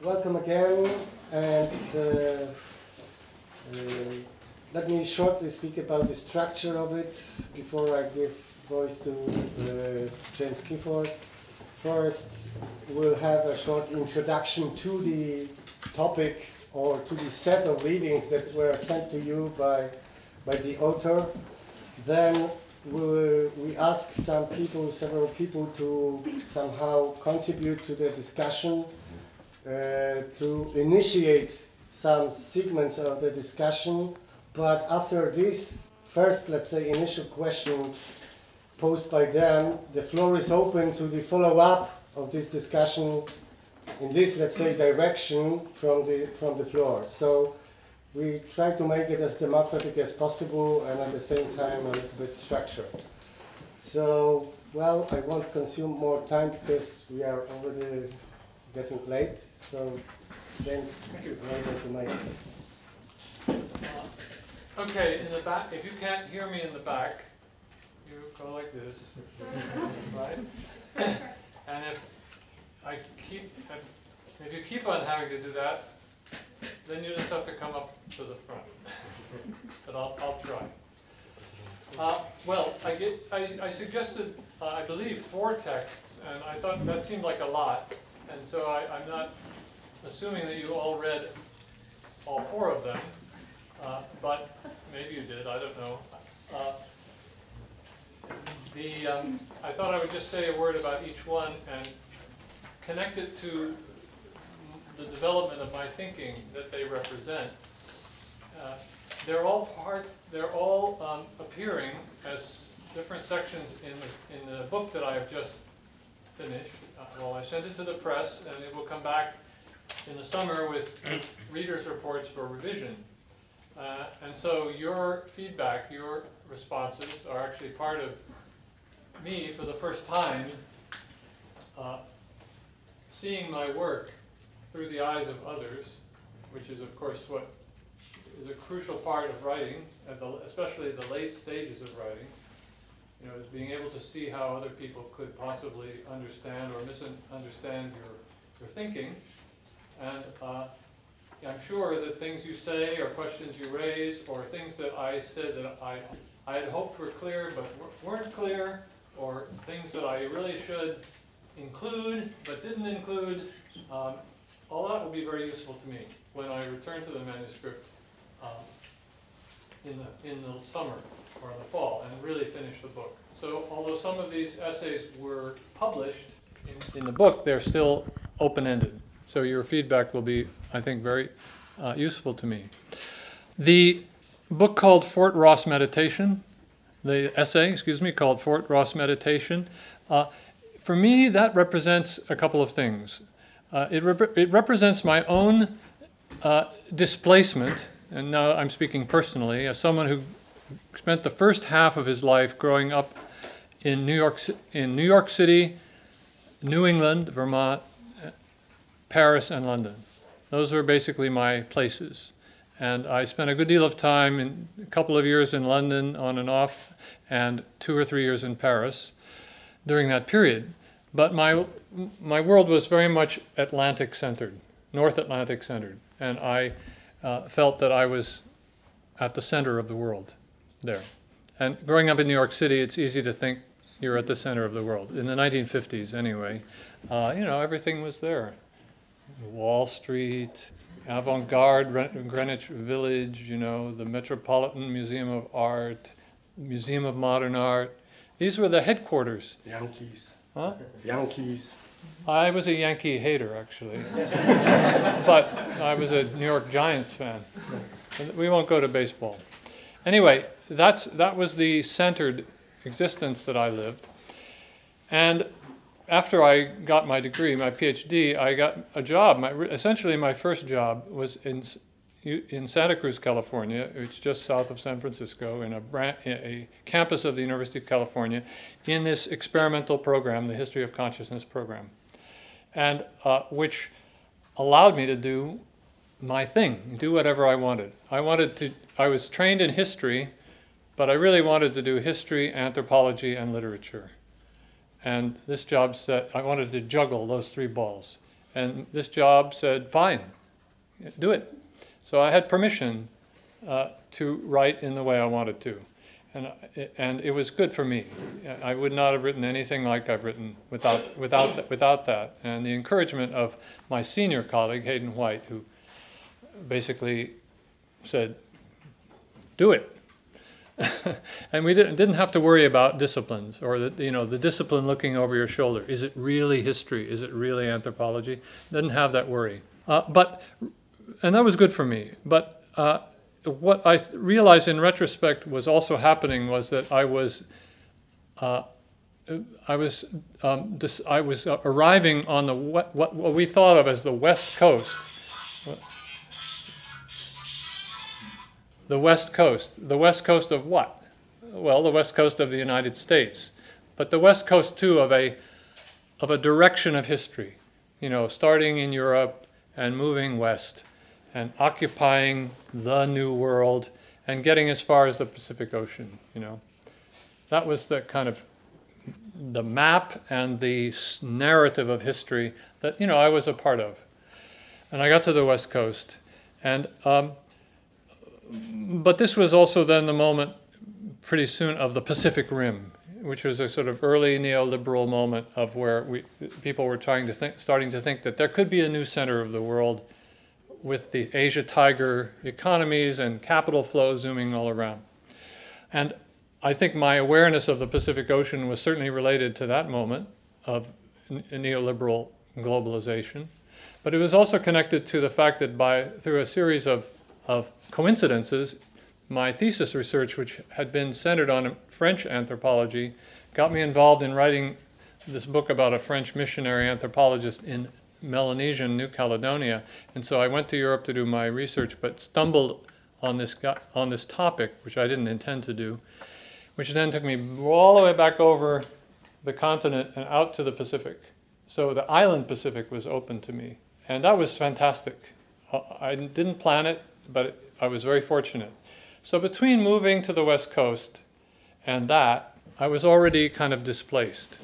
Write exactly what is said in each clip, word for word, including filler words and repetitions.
welcome again, and uh, uh, let me shortly speak about the structure of it before I give voice to uh, James Gifford. First, we'll have a short introduction to the topic or to the set of readings that were sent to you by, by the author. Then we, we ask some people, several people to somehow contribute to the discussion, uh, to initiate some segments of the discussion. But after this first, let's say, initial question posed by them, the floor is open to the follow-up of this discussion in this, let's say, direction from the from the floor. So we try to make it as democratic as possible and at the same time a little bit structured. So, well, I won't consume more time because we are already getting late. So, James, you're able to make it. Uh, okay, in the back, if you can't hear me in the back, you go like this, right? And if I keep, if you keep on having to do that, then you just have to come up to the front. But I'll, I'll try. Uh, well, I, get, I, I suggested, uh, I believe, four texts, and I thought that seemed like a lot. And so I, I'm not assuming that you all read all four of them, uh, but maybe you did, I don't know. Uh, the, um, I thought I would just say a word about each one and connect it to the development of my thinking that they represent. Uh, they're all part, they're all um, appearing as different sections in the, in the book that I have just finished. Uh, well, I sent it to the press, and it will come back in the summer with readers' reports for revision. Uh, and so your feedback, your responses are actually part of me, for the first time, uh, seeing my work through the eyes of others, which is, of course, what is a crucial part of writing, at the, especially the late stages of writing. You know, is being able to see how other people could possibly understand or misunderstand your, your thinking. And uh, I'm sure that things you say or questions you raise or things that I said that I, I had hoped were clear but weren't clear, or things that I really should include but didn't include, um, all that will be very useful to me when I return to the manuscript um, in the in the summer or in the fall and really finish the book. So although some of these essays were published in, in the book, they're still open-ended. So your feedback will be, I think, very uh, useful to me. The book called Fort Ross Meditation, the essay, excuse me, called Fort Ross Meditation, uh, for me that represents a couple of things. Uh, it, rep- it represents my own uh, displacement, and now I'm speaking personally, as someone who spent the first half of his life growing up in New York, in New York City, New England, Vermont, Paris, and London. Those were basically my places. And I spent a good deal of time, in a couple of years in London on and off, and two or three years in Paris during that period. But my my world was very much Atlantic-centered, North Atlantic-centered, and I uh, felt that I was at the center of the world there. And growing up in New York City, it's easy to think you're at the center of the world. In the nineteen fifties, anyway, uh, you know, everything was there. Wall Street, avant-garde Greenwich Village, you know, the Metropolitan Museum of Art, Museum of Modern Art. These were the headquarters. Yankees. Huh? Yankees. I was a Yankee hater, actually. But I was a New York Giants fan. We won't go to baseball. Anyway, that's that was the centered existence that I lived. And after I got my degree, my PhD, I got a job. My, essentially, my first job was in in Santa Cruz, California. It's just south of San Francisco, in a, brand, a campus of the University of California, in this experimental program, the History of Consciousness program, and uh, which allowed me to do my thing, do whatever I wanted. I wanted to. I was trained in history, but I really wanted to do history, anthropology, and literature. And this job said I wanted to juggle those three balls. And this job said, fine, do it. So I had permission uh, to write in the way I wanted to. And, and it was good for me. I would not have written anything like I've written without, without, th- without that. And the encouragement of my senior colleague, Hayden White, who basically said, do it. And we didn't, didn't have to worry about disciplines or the, you know, the discipline looking over your shoulder. Is it really history? Is it really anthropology? Didn't have that worry. Uh, but, and that was good for me. But uh, what I realized in retrospect was also happening was that I was, uh, I was, um, dis- I was uh, arriving on the what, what what we thought of as the West Coast. The West Coast. The West Coast of what? Well, the West Coast of the United States, but the West Coast too of a of a direction of history. You know, starting in Europe and moving west, and occupying the New World, and getting as far as the Pacific Ocean. You know, that was the kind of the map and the narrative of history that you know I was a part of. And I got to the West Coast, and. Um, But this was also then the moment pretty soon of the Pacific Rim, which was a sort of early neoliberal moment of where we, people were trying to think, starting to think that there could be a new center of the world with the Asia Tiger economies and capital flow zooming all around. And I think my awareness of the Pacific Ocean was certainly related to that moment of neoliberal globalization. But it was also connected to the fact that by through a series of of coincidences, my thesis research, which had been centered on French anthropology, got me involved in writing this book about a French missionary anthropologist in Melanesian New Caledonia. And so I went to Europe to do my research, but stumbled on this on this topic, which I didn't intend to do, which then took me all the way back over the continent and out to the Pacific. So the island Pacific was open to me, and that was fantastic. I didn't plan it, but I was very fortunate. So between moving to the West Coast and that, I was already kind of displaced.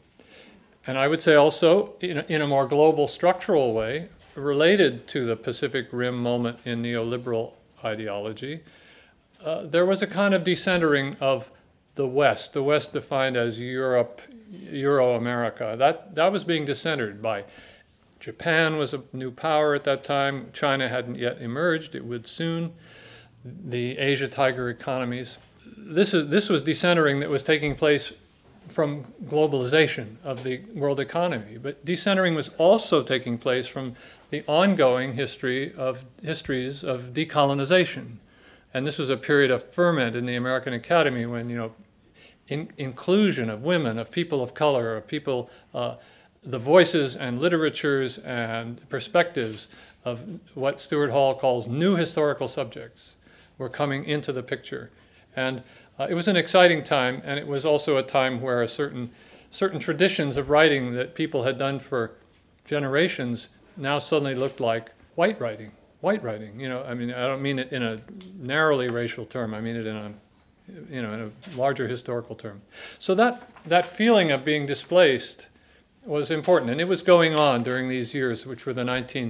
And I would say also, in a, in a more global structural way, related to the Pacific Rim moment in neoliberal ideology, uh, there was a kind of decentering of the West, the West defined as Europe, Euro-America. That, that was being decentered by Japan was a new power at that time. China hadn't yet emerged. It would soon. The Asia Tiger economies. This is this was decentering that was taking place from globalization of the world economy. But decentering was also taking place from the ongoing history of histories of decolonization. And this was a period of ferment in the American Academy when, you know, in, inclusion of women, of people of color, of people uh, the voices and literatures and perspectives of what Stuart Hall calls new historical subjects were coming into the picture. And uh, it was an exciting time, and it was also a time where a certain certain traditions of writing that people had done for generations now suddenly looked like white writing. White writing, you know, I mean, I don't mean it in a narrowly racial term, I mean it in a, you know, in a larger historical term. So that that feeling of being displaced was important, and it was going on during these years, which were the nineteen,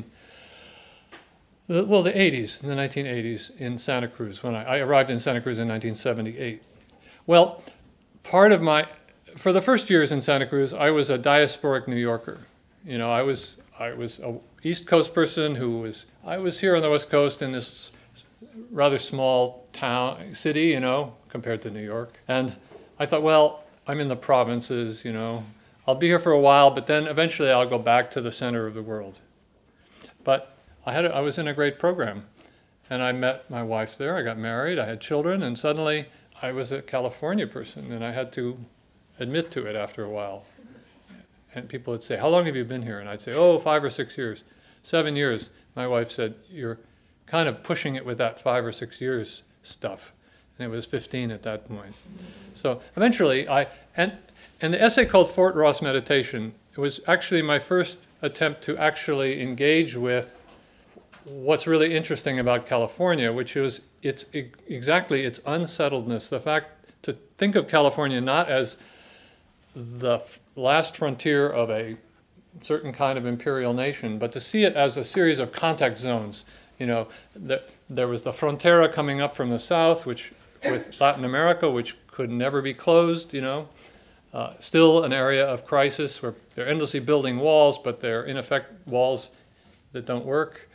well, the eighties, the nineteen eighties in Santa Cruz. When I, I arrived in Santa Cruz in nineteen seventy-eight. Well, part of my, for the first years in Santa Cruz, I was a diasporic New Yorker. You know, I was I was a East Coast person who was I was here on the West Coast in this rather small town city, you know, compared to New York, and I thought, well, I'm in the provinces, you know. I'll be here for a while, but then eventually I'll go back to the center of the world. But I had a, I was in a great program, and I met my wife there. I got married. I had children, and suddenly I was a California person, and I had to admit to it after a while. And people would say, "How long have you been here?" And I'd say, "Oh, five or six years, seven years." My wife said, "You're kind of pushing it with that five or six years stuff," and it was fifteen at that point. So eventually, I and. And the essay called Fort Ross Meditation, it was actually my first attempt to actually engage with what's really interesting about California, which is its exactly its unsettledness. The fact to think of California not as the last frontier of a certain kind of imperial nation, but to see it as a series of contact zones. You know, the, there was the frontera coming up from the south, which with Latin America, which could never be closed, you know. Uh, still an area of crisis where they're endlessly building walls, but they're in effect walls that don't work.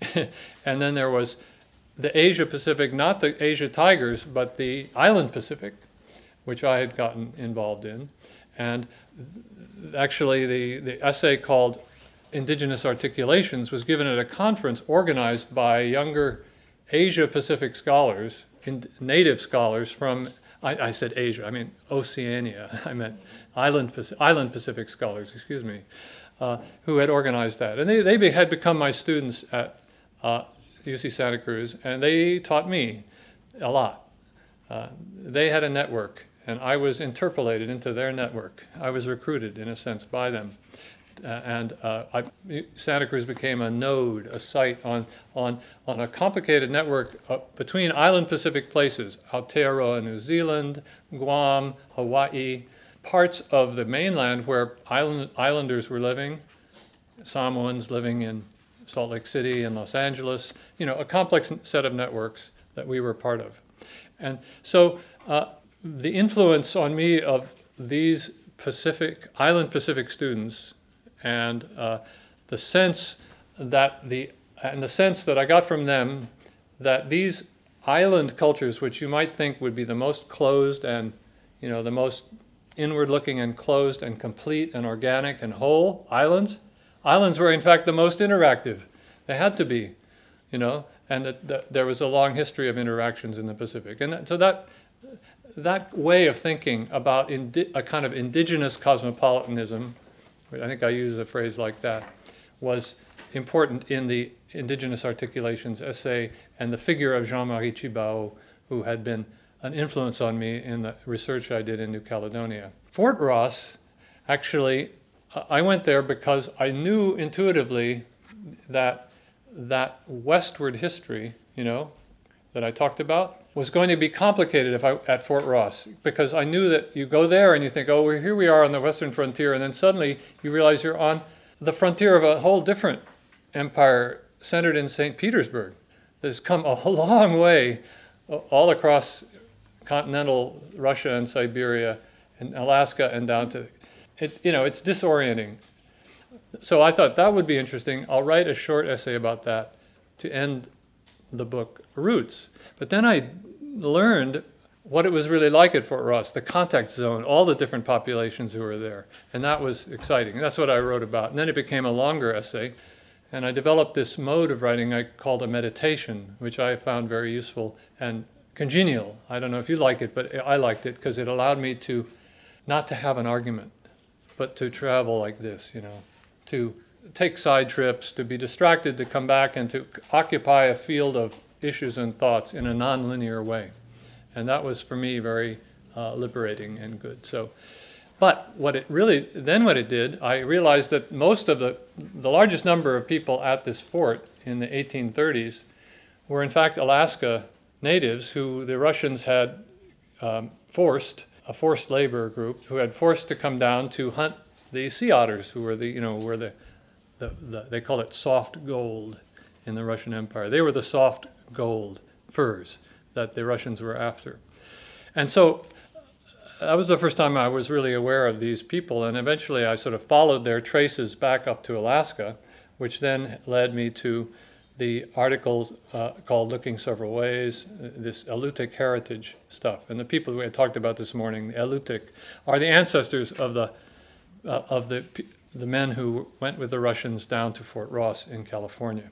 And then there was the Asia Pacific, not the Asia Tigers, but the Island Pacific, which I had gotten involved in. And actually the, the essay called Indigenous Articulations was given at a conference organized by younger Asia Pacific scholars, in, native scholars from, I, I said Asia, I mean Oceania, I meant Island Pacific, Island Pacific scholars, excuse me, uh, who had organized that. And they, they be, had become my students at uh, U C Santa Cruz, and they taught me a lot. Uh, they had a network, and I was interpolated into their network. I was recruited, in a sense, by them. Uh, and uh, I, Santa Cruz became a node, a site on, on, on a complicated network uh, between island Pacific places, Aotearoa, New Zealand, Guam, Hawaii, parts of the mainland where island, islanders were living, Samoans living in Salt Lake City and Los Angeles, you know, a complex set of networks that we were part of. And so uh, the influence on me of these Pacific, island Pacific students and uh, the sense that the and the sense that I got from them that these island cultures, which you might think would be the most closed and, you know, the most inward-looking and closed and complete and organic and whole islands, islands were in fact the most interactive. They had to be, you know, and that, that there was a long history of interactions in the Pacific. And that, so that that way of thinking about indi- a kind of indigenous cosmopolitanism, I think I use a phrase like that, was important in the Indigenous Articulations essay and the figure of Jean-Marie Tjibaou, who had been an influence on me in the research I did in New Caledonia. Fort Ross, actually, I went there because I knew intuitively that that westward history, you know, that I talked about, was going to be complicated if I at Fort Ross, because I knew that you go there and you think, oh, well, here we are on the western frontier, and then suddenly you realize you're on the frontier of a whole different empire centered in Saint Petersburg. That's come a long way all across continental Russia and Siberia and Alaska and down to, it, you know, it's disorienting. So I thought that would be interesting. I'll write a short essay about that to end the book Roots. But then I learned what it was really like at Fort Ross, the contact zone, all the different populations who were there. And that was exciting. That's what I wrote about. And then it became a longer essay. And I developed this mode of writing I called a meditation, which I found very useful and congenial. I don't know if you like it, but I liked it because it allowed me to not to have an argument, but to travel like this, you know, to take side trips, to be distracted, to come back and to occupy a field of issues and thoughts in a non-linear way. And that was for me very uh, liberating and good. So, but what it really, then what it did, I realized that most of the, the largest number of people at this fort in the eighteen thirties were in fact Alaska natives who the Russians had um, forced, a forced labor group, who had forced to come down to hunt the sea otters, who were the, you know, were the, the, the they call it soft gold in the Russian Empire. They were the soft gold furs that the Russians were after. And so that was the first time I was really aware of these people, and eventually I sort of followed their traces back up to Alaska, which then led me to the article uh, called Looking Several Ways, this Alutiiq heritage stuff. And the people we had talked about this morning, the Alutiiq, are the ancestors of the uh, of the the men who went with the Russians down to Fort Ross in California.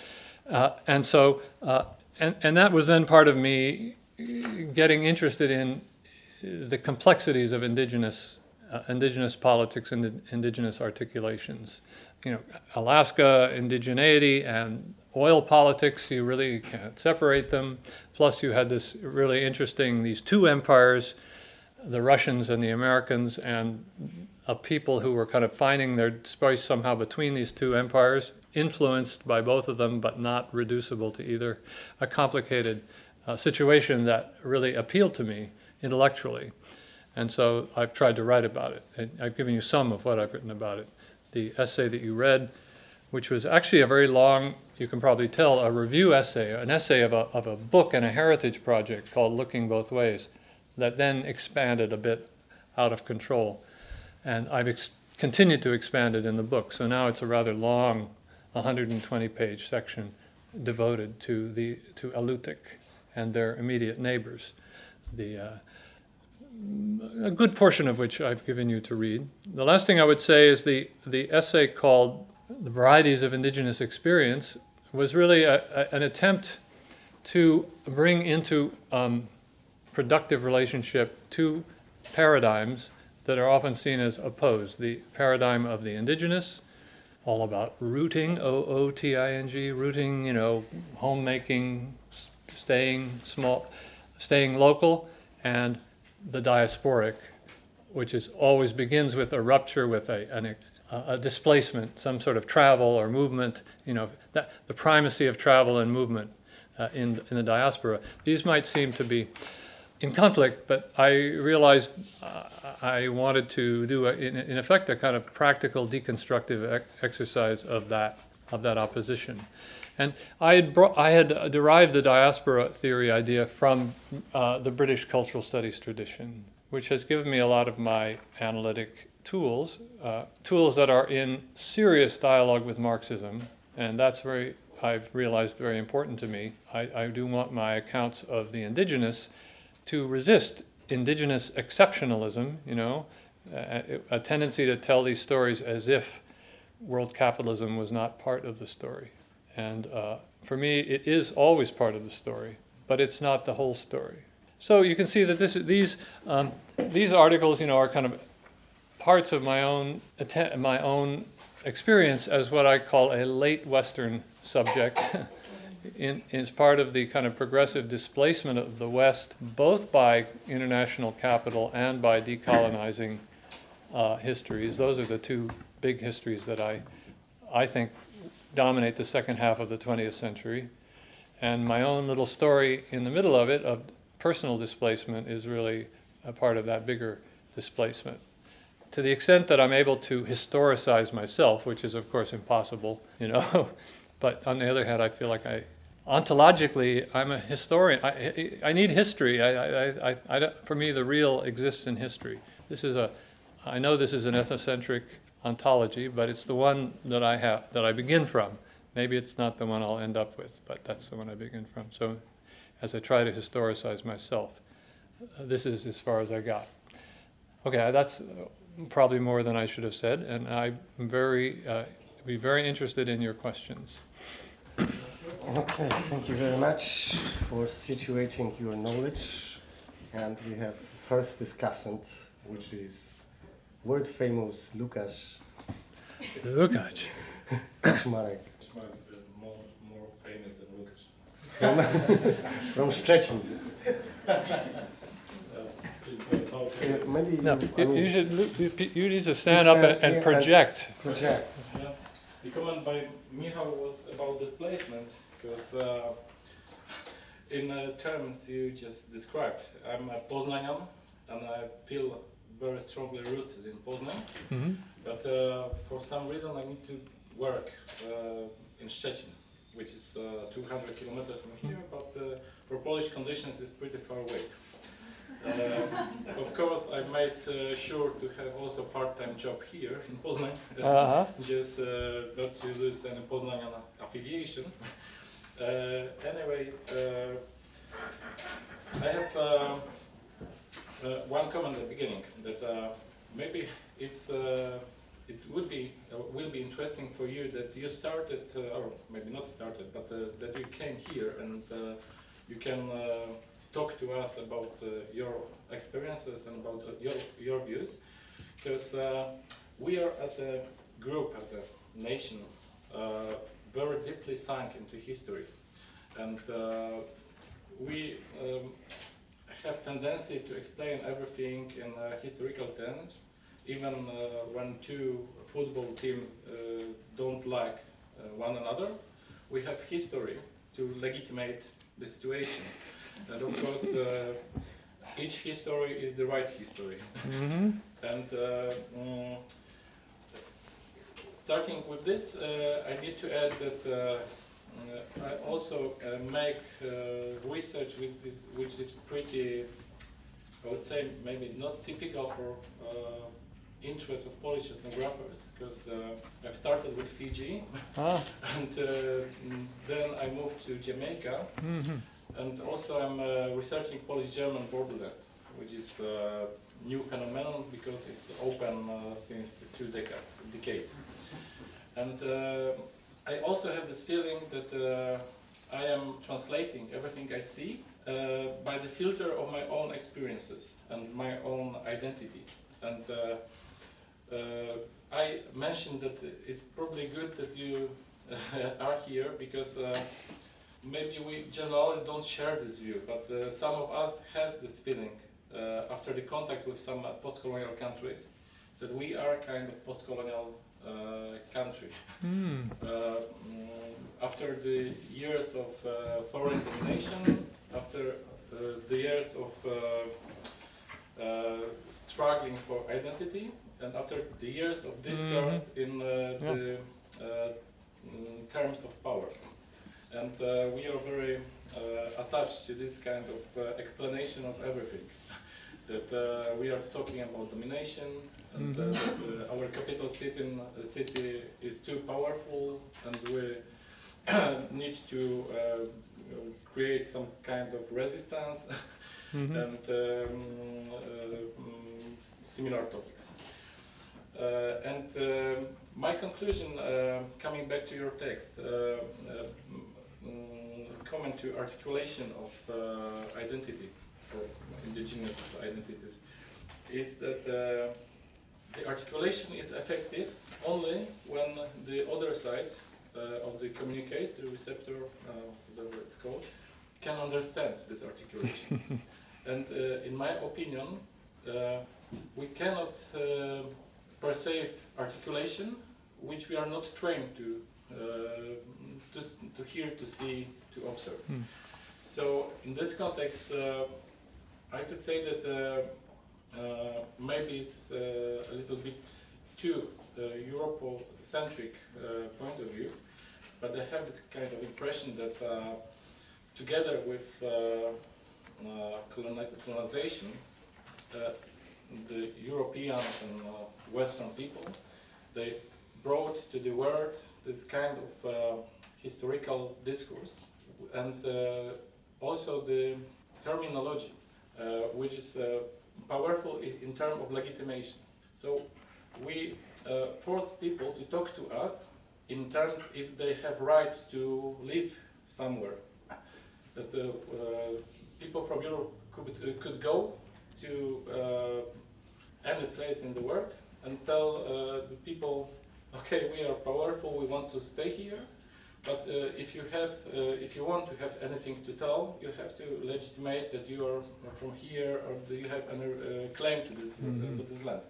Uh, and so, uh, and, and that was then part of me getting interested in the complexities of indigenous uh, indigenous politics and indigenous articulations. You know, Alaska indigeneity and oil politics, you really can't separate them. Plus you had this really interesting, these two empires, the Russians and the Americans, and a people who were kind of finding their space somehow between these two empires, influenced by both of them, but not reducible to either. A complicated uh, situation that really appealed to me intellectually. And so I've tried to write about it. And I've given you some of what I've written about it. the essay that you read, which was actually a very long, you can probably tell, a review essay, an essay of a, of a book and a heritage project called Looking Both Ways, that then expanded a bit out of control. And I've ex- continued to expand it in the book. So now it's a rather long, one hundred twenty page section devoted to the to Alutiiq and their immediate neighbors. The uh, a good portion of which I've given you to read. The last thing I would say is the, the essay called The Varieties of Indigenous Experience was really a, a, an attempt to bring into um, productive relationship two paradigms that are often seen as opposed. The paradigm of the indigenous, all about rooting, O O T I N G, rooting, you know, homemaking, staying small, staying local, and the diasporic, which is always begins with a rupture, with a, an, a, a displacement, some sort of travel or movement, you know, that, the primacy of travel and movement uh, in, in the diaspora. These might seem to be in conflict, but I realized uh, I wanted to do, a, in, in effect, a kind of practical deconstructive ec- exercise of that of that opposition. And I had, brought, I had derived the diaspora theory idea from uh, the British cultural studies tradition, which has given me a lot of my analytic tools, uh, tools that are in serious dialogue with Marxism, and that's very, I've realized, very important to me. I, I do want my accounts of the indigenous to resist indigenous exceptionalism, you know, a, a tendency to tell these stories as if world capitalism was not part of the story. And uh, for me, it is always part of the story, but it's not the whole story. So you can see that this, these um, these articles, you know, are kind of parts of my own att- my own experience as what I call a late Western subject. in, is part of the kind of progressive displacement of the West, both by international capital and by decolonizing uh, histories. Those are the two big histories that I, I think, dominate the second half of the twentieth century. And my own little story in the middle of it, of personal displacement, is really a part of that bigger displacement. To the extent that I'm able to historicize myself, which is of course impossible, you know, but on the other hand, I feel like I, ontologically, I'm a historian. I, I need history. I, I, I, I don't, for me, the real exists in history. This is a, I know this is an ethnocentric ontology, but it's the one that I have, that I begin from. Maybe it's not the one I'll end up with, but that's the one I begin from. So as I try to historicize myself, uh, this is as far as I got. Okay, that's probably more than I should have said, and I'm very, uh, be very interested in your questions. Okay, thank you very much for situating your knowledge. And we have first discussant, which is world famous Łukasz. Łukasz. Kaczmarek. Kaczmarek is more, more famous than Łukasz. From, from Szczecin. Okay. Uh, maybe No, you, I you, mean, you should you, you need to stand up and, and project. project. Yeah. The comment by Michał was about displacement, because uh, in uh, terms you just described, I'm a Poznanian and I feel very strongly rooted in Poznań, Mm-hmm. but uh, for some reason I need to work uh, in Szczecin, which is uh, two hundred kilometers from here, but uh, for Polish conditions it's pretty far away. Uh, of course, I made uh, sure to have also part-time job here in Poznań, uh, Uh-huh. just uh, not to lose any Poznanian affiliation. Uh, anyway, uh, I have uh, uh, one comment at the beginning that uh, maybe it's uh, it would be uh, will be interesting for you that you started, uh, or maybe not started, but uh, that you came here and uh, you can. Uh, talk to us about uh, your experiences and about uh, your your views, because uh, we are as a group, as a nation, uh, very deeply sunk into history, and uh, we um, have tendency to explain everything in uh, historical terms, even uh, when two football teams uh, don't like uh, one another. We have history to legitimate the situation. And of course, uh, each history is the right history. Mm-hmm. And uh, mm, starting with this, uh, I need to add that uh, uh, I also uh, make uh, research which is, which is pretty, I would say, maybe not typical for uh, interest of Polish ethnographers, because uh, I've started with Fiji, Ah. and uh, then I moved to Jamaica, Mm-hmm. and also I'm uh, researching Polish-German borderland, which is a new phenomenon because it's open uh, since two decades. decades. And uh, I also have this feeling that uh, I am translating everything I see uh, by the filter of my own experiences and my own identity. And uh, uh, I mentioned that it's probably good that you are here because uh, maybe we generally don't share this view, but uh, some of us has this feeling uh, after the contacts with some uh, post-colonial countries that we are kind of post-colonial uh, country. Mm. Uh, mm, after the years of uh, foreign domination, after uh, the years of uh, uh, struggling for identity, and after the years of discourse mm-hmm. in uh, yeah. the uh, in terms of power. And uh, we are very uh, attached to this kind of uh, explanation of everything. That uh, we are talking about domination, and mm-hmm. uh, that, uh, our capital city, uh, city is too powerful, and we need to uh, create some kind of resistance, mm-hmm. and um, uh, um, similar topics. Uh, and uh, my conclusion, uh, coming back to your text, uh, uh, um, comment to articulation of uh, identity for indigenous identities, is that uh, the articulation is effective only when the other side uh, of the communicate, the receptor, uh, whatever it's called, can understand this articulation. And uh, in my opinion, uh, we cannot uh, perceive articulation which we are not trained to uh, to, to hear, to see, to observe. Mm. So in this context, uh, I could say that uh, uh, maybe it's uh, a little bit too uh, Eurocentric uh, point of view, but I have this kind of impression that uh, together with uh, uh, colonization, uh, the European and uh, Western people, they brought to the world this kind of uh, historical discourse, and uh, also the terminology, uh, which is uh, powerful in, in terms of legitimation. So we uh, force people to talk to us in terms if they have right to live somewhere. That uh, uh, people from Europe could, uh, could go to uh, any place in the world and tell uh, the people, okay, we are powerful, we want to stay here, but uh, if you have, uh, if you want to have anything to tell, you have to legitimate that you are from here or that you have a uh, claim to this mm-hmm. uh, to this land.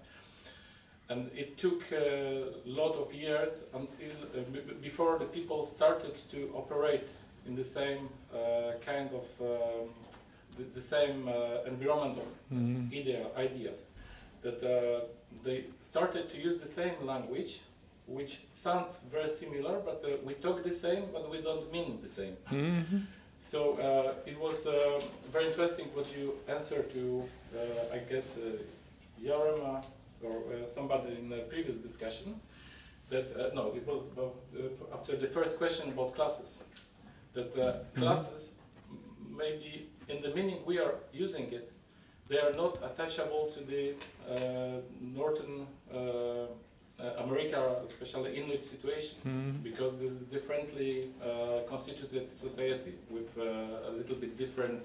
And it took a lot of years until uh, b before the people started to operate in the same uh, kind of um, the, the same uh, environment of mm-hmm. idea, ideas. That uh, they started to use the same language, which sounds very similar, but uh, we talk the same, but we don't mean the same. Mm-hmm. So uh, it was uh, very interesting what you answered to, uh, I guess, uh, Jarema or uh, somebody in the previous discussion. That uh, no, it was about uh, after the first question about classes. That uh, mm-hmm. classes, maybe in the meaning we are using it, they are not attachable to the uh, Northern uh, uh, America, especially Inuit situation, mm-hmm. because this is differently uh, constituted society with uh, a little bit different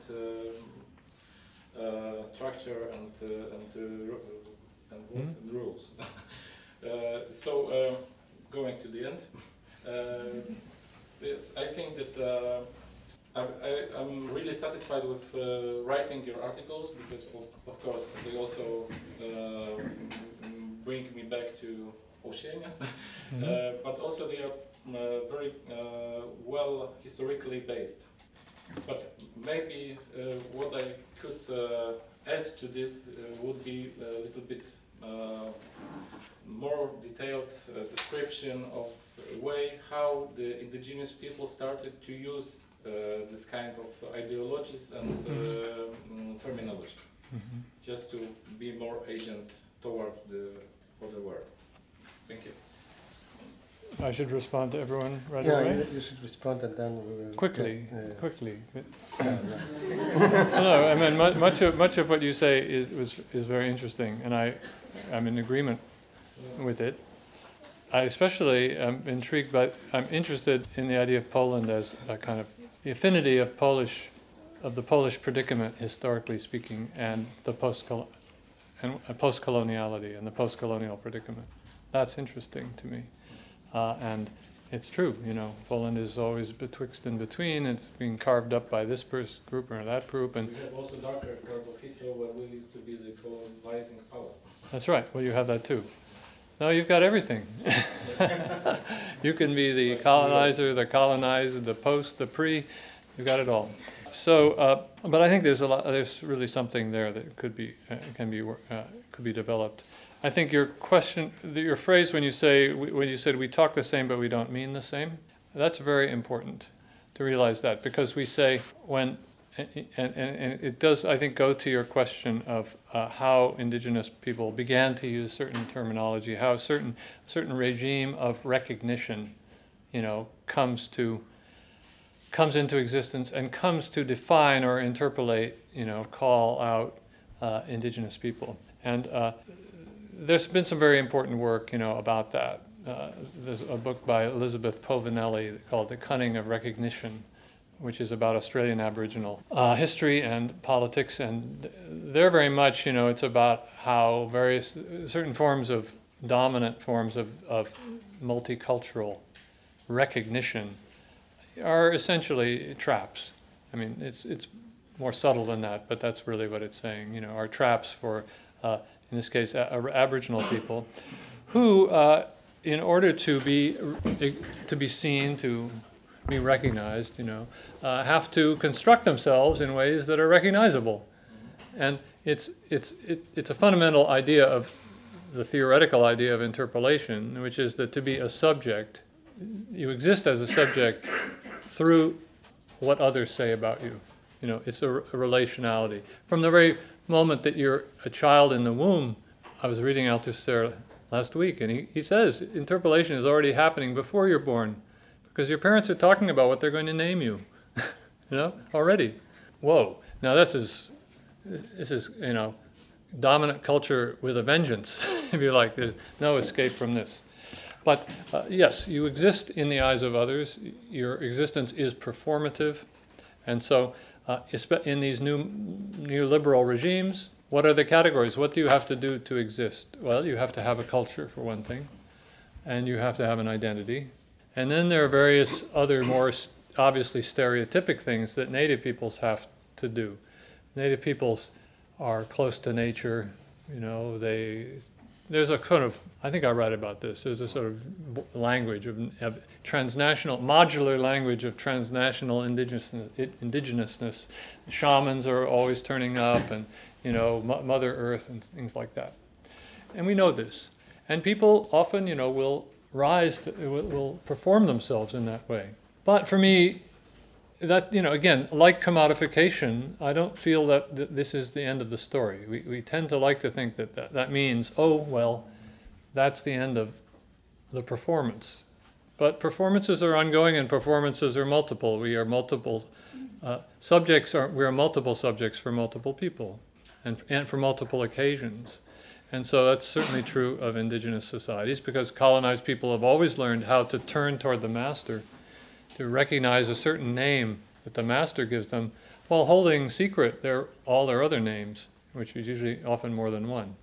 uh, uh, structure and uh, and, uh, and, what? Mm-hmm. and rules. uh, so uh, going to the end, uh, yes, I think that. Uh, I, I'm really satisfied with uh, writing your articles because, of, of course, they also uh, bring me back to Oceania, mm-hmm. uh, but also they are uh, very uh, well historically based. But maybe uh, what I could uh, add to this uh, would be a little bit uh, more detailed uh, description of a way how the indigenous people started to use uh, this kind of ideologies and uh, mm, terminology, Mm-hmm. just to be more agent towards the other world. Thank you. I should respond to everyone right Yeah, away? you, you should respond and then we will... Quickly, Yeah, yeah. quickly. Yeah, yeah. No, I mean, mu- much of, much of what you say is, was, is very interesting, and I, I'm in agreement with it. I especially am intrigued by, I'm interested in the idea of Poland as a kind of, the affinity of Polish, of the Polish predicament, historically speaking, and the post and uh, post-coloniality and the post-colonial predicament. That's interesting to me. Uh, and it's true, you know, Poland is always betwixt and between. It's being carved up by this pers- group or that group, and We have also darker part of history where we used to be the colonizing power. that's right. Well, you have that too. No, you've got everything. You can be the colonizer, the colonized, the post, the pre. You've got it all. So, uh, but I think there's a lot. There's really something there that could be uh, can be uh, could be developed. I think your question, your phrase when you say when you said we talk the same but we don't mean the same. That's very important to realize that, because we say when. And, and, and it does, I think, go to your question of uh, how indigenous people began to use certain terminology, how a certain certain regime of recognition, you know, comes to comes into existence and comes to define or interpolate, you know, call out uh, indigenous people. And uh, there's been some very important work, you know, about that. Uh, there's a book by Elizabeth Povinelli called "The Cunning of Recognition," which is about Australian Aboriginal uh, history and politics, and they're very much, you know, it's about how various, certain forms of, dominant forms of, of multicultural recognition are essentially traps. I mean, it's it's more subtle than that, but that's really what it's saying, you know, are traps for, uh, in this case, a- Aboriginal people, who, uh, in order to be to be seen, to be recognized, you know, uh, have to construct themselves in ways that are recognizable. And it's it's it, it's a fundamental idea of the theoretical idea of interpolation, which is that to be a subject, you exist as a subject through what others say about you. You know, it's a, a relationality. From the very moment that you're a child in the womb, I was reading Althusser last week, and he, he says interpolation is already happening before you're born. Because your parents are talking about what they're going to name you, you know, already. Whoa! Now this is, this is, you know, dominant culture with a vengeance, if you like. There's no escape from this. But uh, yes, you exist in the eyes of others. Your existence is performative, and so uh, in these new neoliberal regimes, what are the categories? What do you have to do to exist? Well, you have to have a culture, for one thing, and you have to have an identity. And then there are various other more obviously stereotypic things that native peoples have to do. Native peoples are close to nature, you know, they, there's a kind of, I think I write about this, there's a sort of language of, of transnational, modular language of transnational indigenousness, indigenousness. Shamans are always turning up, and, you know, M- Mother Earth and things like that. And we know this. And people often, you know, will rise to, will, will perform themselves in that way. But for me, that, you know, again, like commodification, I don't feel that th- this is the end of the story. We we tend to like to think that, that that means, oh, well, that's the end of the performance. But performances are ongoing, and performances are multiple. We are multiple uh, subjects. Are we are multiple subjects for multiple people, and and for multiple occasions. And so that's certainly true of indigenous societies, because colonized people have always learned how to turn toward the master, to recognize a certain name that the master gives them, while holding secret their, all their other names, which is usually often more than one.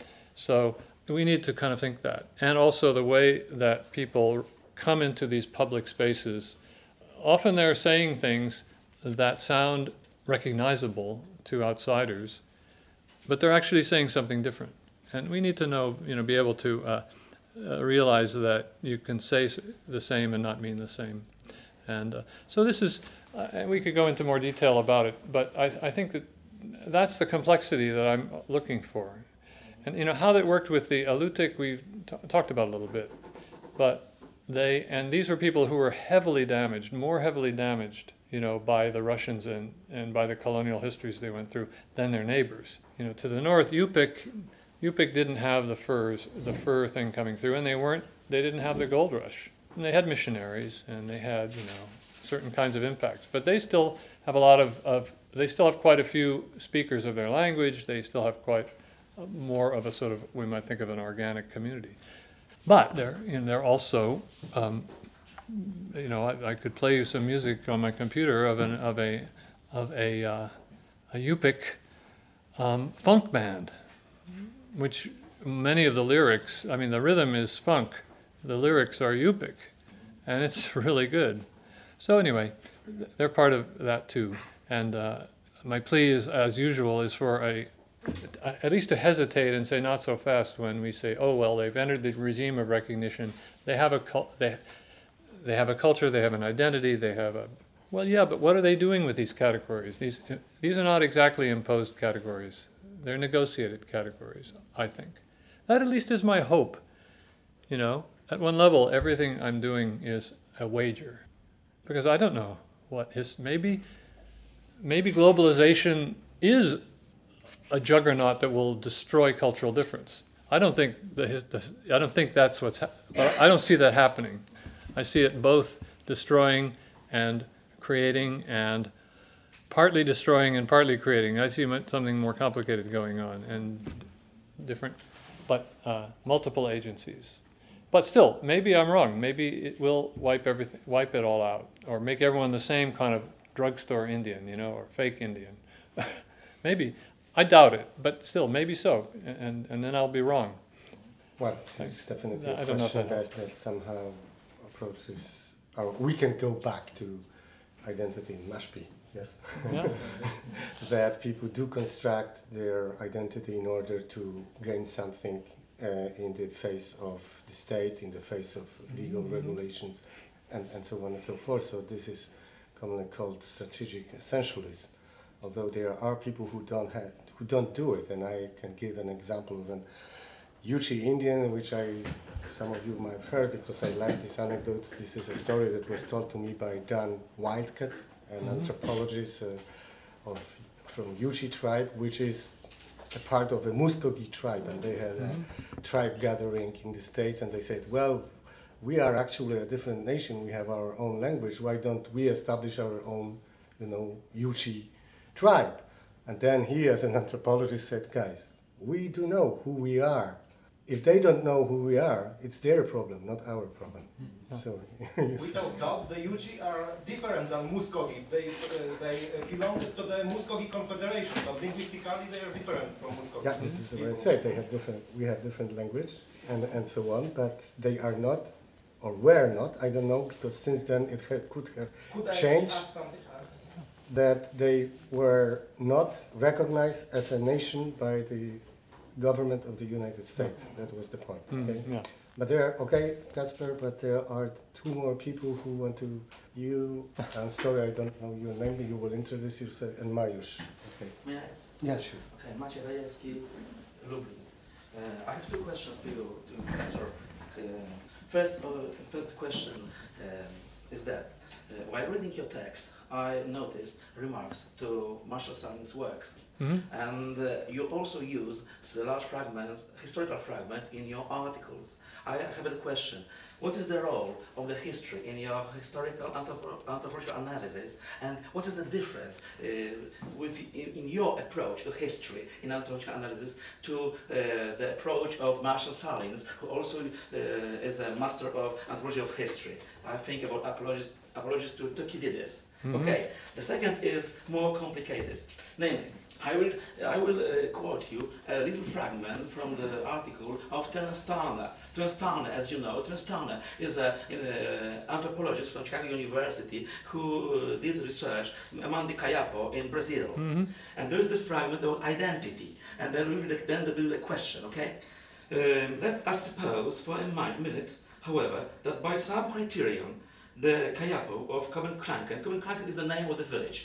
So we need to kind of think that. And also the way that people come into these public spaces, often they're saying things that sound recognizable to outsiders, but they're actually saying something different. And we need to know, you know, be able to uh, uh, realize that you can say the same and not mean the same. And uh, so this is, uh, and we could go into more detail about it, but I, I think that that's the complexity that I'm looking for. And you know how that worked with the Alutiiq, we t- talked about a little bit. But they, and these were people who were heavily damaged, more heavily damaged, you know, by the Russians and, and by the colonial histories they went through than their neighbors. You know, to the north, Yupik, Yupik didn't have the furs, the fur thing coming through, and they weren't, they didn't have the gold rush. And they had missionaries, and they had, you know, certain kinds of impacts. But they still have a lot of, of they still have quite a few speakers of their language. They still have quite more of a sort of, we might think of an organic community. But they're, you know, they're also, um, you know, I, I could play you some music on my computer of an of a of a uh, a Yupik um, funk band, which many of the lyrics, I mean, the rhythm is funk, the lyrics are Yupik, and it's really good. So anyway, they're part of that too. And uh, my plea is, as usual, is for a at least to hesitate and say not so fast when we say, oh well, they've entered the regime of recognition. They have a cul- they they have a culture, they have an identity, they have a well, yeah, but what are they doing with these categories? These these are not exactly imposed categories. They're negotiated categories, I think. That at least is my hope. You know, at one level, everything I'm doing is a wager, because I don't know what his maybe maybe globalization is a juggernaut that will destroy cultural difference. I don't think the, the I don't think that's what's. Ha- I don't see that happening. I see it both destroying and creating, and partly destroying and partly creating. I see something more complicated going on, and different, but uh, multiple agencies. But still, maybe I'm wrong. Maybe it will wipe everything, wipe it all out, or make everyone the same kind of drugstore Indian, you know, or fake Indian. Maybe. I doubt it, but still, maybe so, and and then I'll be wrong. Well, this is definitely a I don't know if question that that, that somehow approaches, or we can go back to identity in Mashpee, yes? Yeah. That people do construct their identity in order to gain something uh, in the face of the state, in the face of legal mm-hmm. regulations, and, and so on and so forth. So this is commonly called strategic essentialism. Although there are people who don't have, who don't do it, and I can give an example of an Yuchi Indian, which I, some of you might have heard because I like this anecdote. This is a story that was told to me by Dan Wildcat, an mm-hmm. anthropologist uh, of from Yuchi tribe, which is a part of a Muskogee tribe, and they had mm-hmm. a tribe gathering in the States, and they said, well, we are actually a different nation. We have our own language. Why don't we establish our own, you know, Yuchi tribe? And then he, as an anthropologist, said, guys, we do know who we are. If they don't know who we are, it's their problem, not our problem. Mm-hmm. So without doubt, the Yuchi are different than Muskogee. They uh, they uh, belong to the Muskogee Confederation, but linguistically they are different from Muskogee. Yeah, this is what I said. They have different. We have different language and and so on, but they are not, or were not. I don't know, because since then it ha- could have could changed. I ask something? That they were not recognized as a nation by the government of the United States. That was the point. Okay. Mm, yeah. But there, are, okay, Kacper, but there are two more people who want to. You, I'm sorry, I don't know your name. You will introduce yourself, and Mariusz. Okay. May I? Yeah, sure. Okay, Maciej Rajewski, Lublin. Uh, I have two questions to you, to Professor. Uh, first, uh, first question uh, is that uh, while reading your text, I noticed remarks to Marshall Sahlins' works, mm-hmm. and uh, you also use large fragments, historical fragments in your articles. I have a question. What is the role of the history in your historical anthropo- anthropological analysis, and what is the difference uh, with in, in your approach to history in anthropological analysis to uh, the approach of Marshall Sahlins, who also uh, is a master of anthropology of history? I think about apologies, apologies to Thucydides. Mm-hmm. Okay. The second is more complicated. Namely, I will I will uh, quote you a little fragment from the article of Terence Turner. Terence Turner, as you know, Terence Turner is an anthropologist from Chicago University who uh, did research among the Kayapo in Brazil. Mm-hmm. And there is this fragment of identity, and then will be the, then there will be the question. Okay, um, let us suppose for a minute, however, that by some criterion the Kayapo of Coben-Kranken, Coben-Kranken is the name of the village,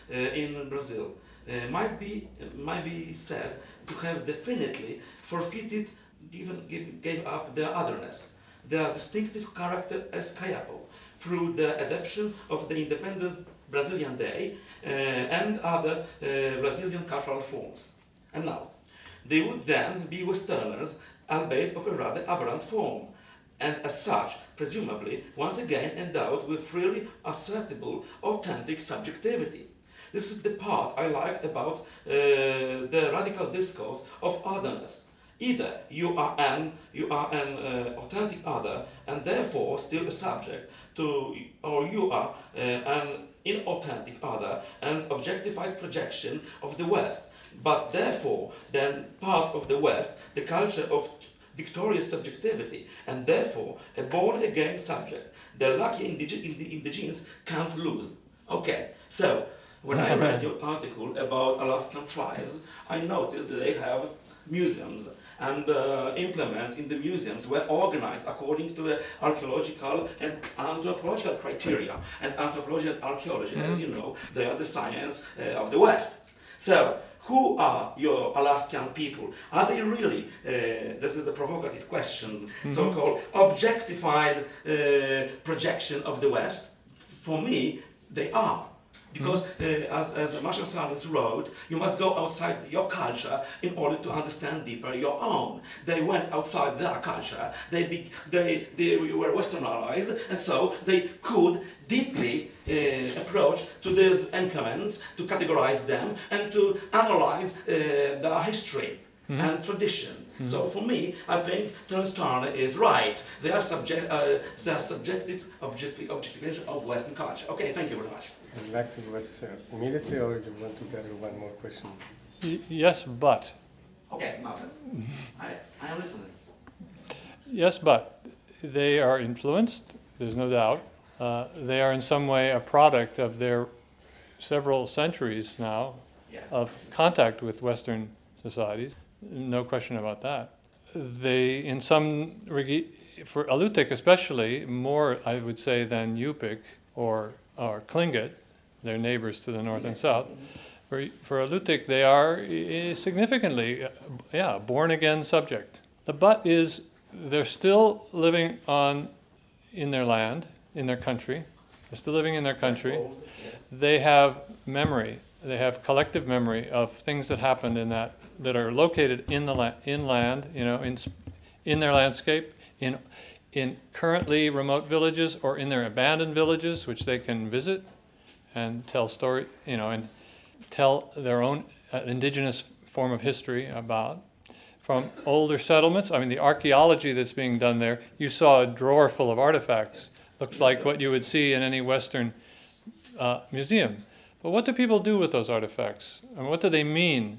uh, in Brazil uh, might be might be said to have definitely forfeited, even give, gave up their otherness, their distinctive character as Kayapo, through the adoption of the Independence Brazilian Day uh, and other uh, Brazilian cultural forms. And now, they would then be Westerners, albeit of a rather aberrant form, and as such, presumably, once again endowed with freely assertable, authentic subjectivity. This is the part I like about uh, the radical discourse of otherness. Either you are an, you are an uh, authentic other and therefore still a subject to, or you are uh, an inauthentic other and objectified projection of the West, but therefore then part of the West, the culture of victorious subjectivity, and therefore a born-again subject the lucky indige- indi- indigenes can't lose. Okay, so when I read your article about Alaskan tribes, I noticed that they have museums, and uh, implements in the museums were organized according to uh, archaeological and anthropological criteria. And anthropology and archaeology, mm-hmm. as you know, they are the science uh, of the West. So, who are your Alaskan people? Are they really, uh, this is the provocative question, mm-hmm. so-called objectified uh, projection of the West? For me, they are. Because, uh, as, as Marshall Sahlins wrote, you must go outside your culture in order to understand deeper your own. They went outside their culture, they, be, they, they were westernized, and so they could deeply uh, approach to these implements, to categorize them, and to analyze uh, their history mm-hmm. and tradition. Mm-hmm. So for me, I think Terence Turner is right. They are, subject, uh, they are subjective objective, objectification of Western culture. Okay, thank you very much. Would you like to go uh, immediately, or do you want to gather one more question? Y- yes, but. Okay, Marcus. I, I am listening. Yes, but they are influenced, there's no doubt. Uh, they are in some way a product of their several centuries now yes. of contact with Western societies. No question about that. They, in some, regi- for Alutiiq especially, more, I would say, than Yupik or, or Tlingit, their neighbors to the north yes. and south. For, for Alutiiq, they are uh, significantly, uh, yeah, born-again subject. The but is they're still living on in their land, in their country. They're still living in their country. They have memory. They have collective memory of things that happened in that, that are located in the la- inland, you know, in in their landscape, in in currently remote villages or in their abandoned villages, which they can visit and tell story, you know, and tell their own uh, indigenous form of history about. From older settlements, I mean, the archaeology that's being done there, you saw a drawer full of artifacts. Looks like what you would see in any Western uh, museum. But what do people do with those artifacts? And what do they mean?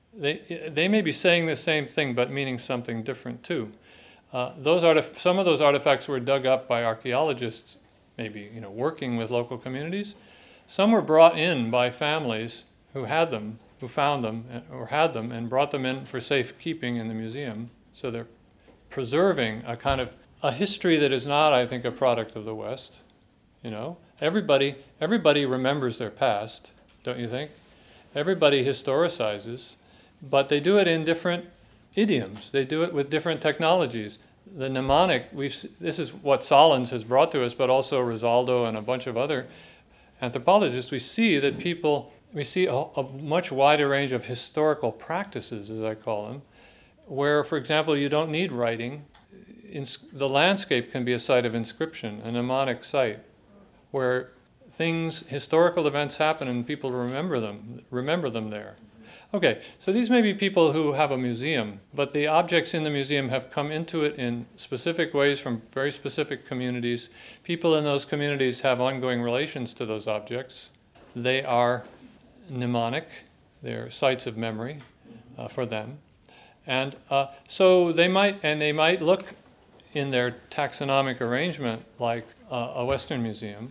They they may be saying the same thing, but meaning something different too. Uh, those artif- some of those artifacts were dug up by archaeologists, maybe you know, working with local communities. Some were brought in by families who had them, who found them or had them, and brought them in for safekeeping in the museum. So they're preserving a kind of a history that is not, I think, a product of the West. You know, everybody everybody remembers their past, don't you think? Everybody historicizes, but they do it in different idioms. They do it with different technologies. The mnemonic, we've, this is what Sahlins has brought to us, but also Rosaldo and a bunch of other anthropologists. We see that people, we see a, a much wider range of historical practices, as I call them, where, for example, you don't need writing. In, the landscape can be a site of inscription, a mnemonic site, where things, historical events happen and people remember them, remember them there. Okay, so these may be people who have a museum, but the objects in the museum have come into it in specific ways from very specific communities. People in those communities have ongoing relations to those objects. They are mnemonic, they're sites of memory uh, for them. And uh, so they might, and they might look in their taxonomic arrangement like uh, a Western museum,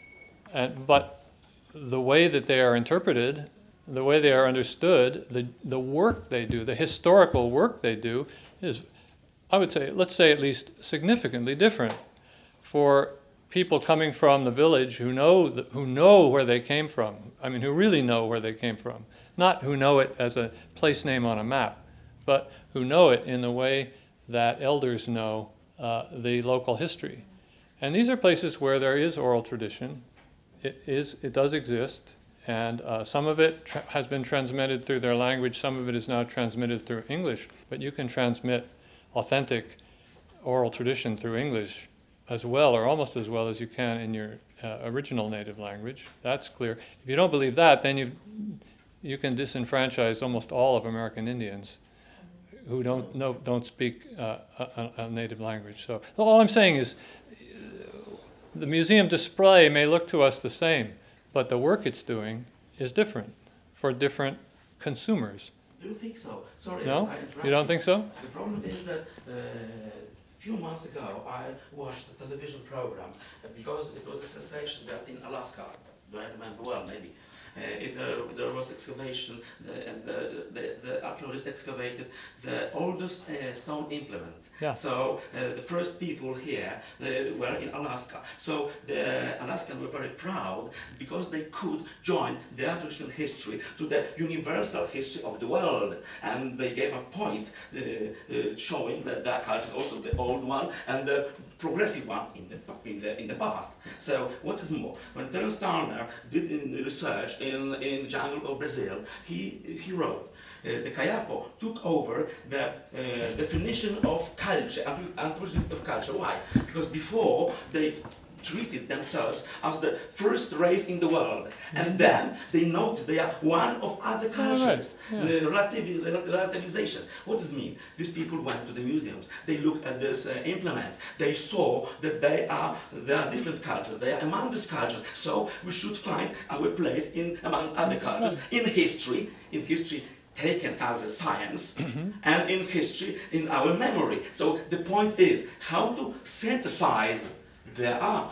and, but the way that they are interpreted, the way they are understood, the, the work they do, the historical work they do is, I would say, let's say at least significantly different. For people coming from the village who know the, who know where they came from. I mean, who really know where they came from. Not who know it as a place name on a map, but who know it in the way that elders know uh, the local history. And these are places where there is oral tradition. It is, it does exist, and uh, some of it tra- has been transmitted through their language, some of it is now transmitted through English, but you can transmit authentic oral tradition through English as well, or almost as well as you can in your uh, original native language. That's clear. If you don't believe that, then you you can disenfranchise almost all of American Indians who don't know, don't speak uh, a, a native language. So all I'm saying is, the museum display may look to us the same, but the work it's doing is different for different consumers. Do you think so? Sorry, No? I interrupt You don't think so? The problem is that uh, a few months ago I watched a television program uh, because it was a sensation that in Alaska, do I remember well maybe, uh, it, there, there was excavation uh, and the, the, the archaeologists excavated the oldest uh, stone implement. Yeah. So uh, the first people here uh, were in Alaska. So the Alaskans were very proud because they could join their traditional history to the universal history of the world. And they gave a point uh, uh, showing that their culture is also the old one and the progressive one in the, in the, in the past. So what is more, when Terence Turner did in research in, in the jungle of Brazil, he, he wrote, Uh, the Kayapo took over the uh, definition of culture, anthropology of culture. Why? Because before they treated themselves as the first race in the world, and then they noticed they are one of other cultures. Oh, right. Yeah. The relativ- relativization. What does it mean? These people went to the museums. They looked at these uh, implements. They saw that they are there are different cultures. They are among these cultures. So we should find our place in among other cultures in history. In history. Taken as a science, mm-hmm. and in history, in our memory. So the point is how to synthesize their uh,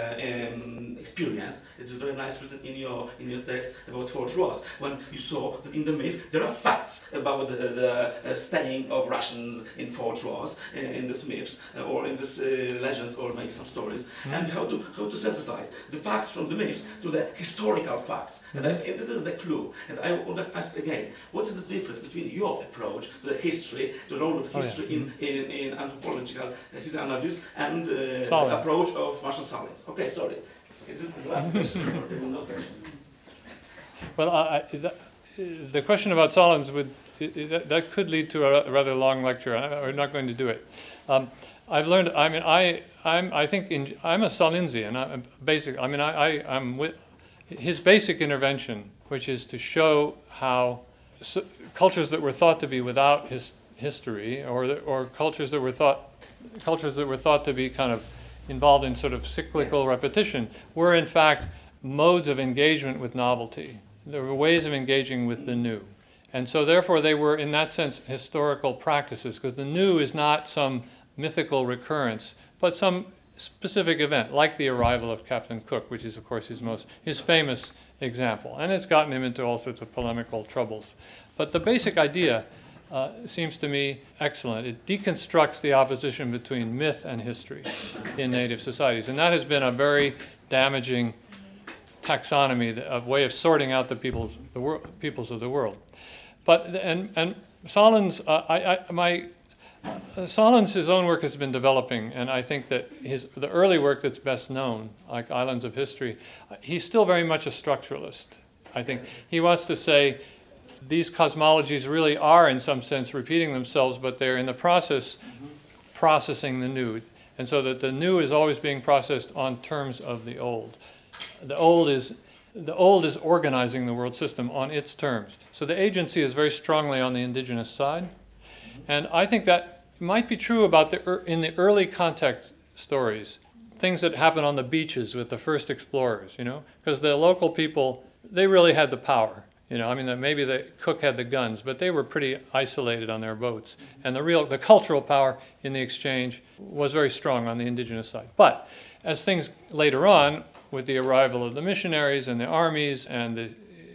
um, experience. It is very nice written in your in your text about Forge Ross, when you saw that in the myth there are facts about the, the uh, staying of Russians in Forge Ross, in, in these myths, uh, or in these uh, legends, or maybe some stories, mm-hmm. and how to how to synthesize the facts from the myths to the historical facts. Mm-hmm. And, I, and this is the clue. And I want to ask again, what is the difference between your approach to the history, to the role of history oh, yeah. in, in, in anthropological uh, analysis, and uh, the approach of Marshall Sahlins? Okay, sorry. Okay, this is the last question. Okay. Well, I, I, that, the question about Sahlins would it, that, that could lead to a rather long lecture. I, we're not going to do it. Um, I've learned. I mean, I I'm I think in, I'm a Sahlinsian. I'm basic. I mean, I, I I'm with his basic intervention, which is to show how so, cultures that were thought to be without his history, or the, or cultures that were thought cultures that were thought to be kind of involved in sort of cyclical repetition, were in fact modes of engagement with novelty. There were ways of engaging with the new. And so therefore they were, in that sense, historical practices, because the new is not some mythical recurrence, but some specific event, like the arrival of Captain Cook, which is, of course, his most his famous example. And it's gotten him into all sorts of polemical troubles. But the basic idea Uh, seems to me excellent. It deconstructs the opposition between myth and history in native societies. And that has been a very damaging taxonomy, a way of sorting out the peoples, the wor- peoples of the world. But, and, and Sahlins, uh, I, I, my, uh, Sahlins, his own work has been developing, and I think that his, the early work that's best known, like Islands of History, uh, he's still very much a structuralist. I think he wants to say, these cosmologies really are, in some sense, repeating themselves, but they're in the process mm-hmm. processing the new. And so that the new is always being processed on terms of the old. The old is the old is organizing the world system on its terms. So the agency is very strongly on the indigenous side. Mm-hmm. And I think that might be true about the in the early contact stories, things that happen on the beaches with the first explorers, you know, because the local people, they really had the power. You know, I mean, maybe the Cook had the guns, but they were pretty isolated on their boats. And the real, the cultural power in the exchange was very strong on the indigenous side. But as things later on, with the arrival of the missionaries and the armies and the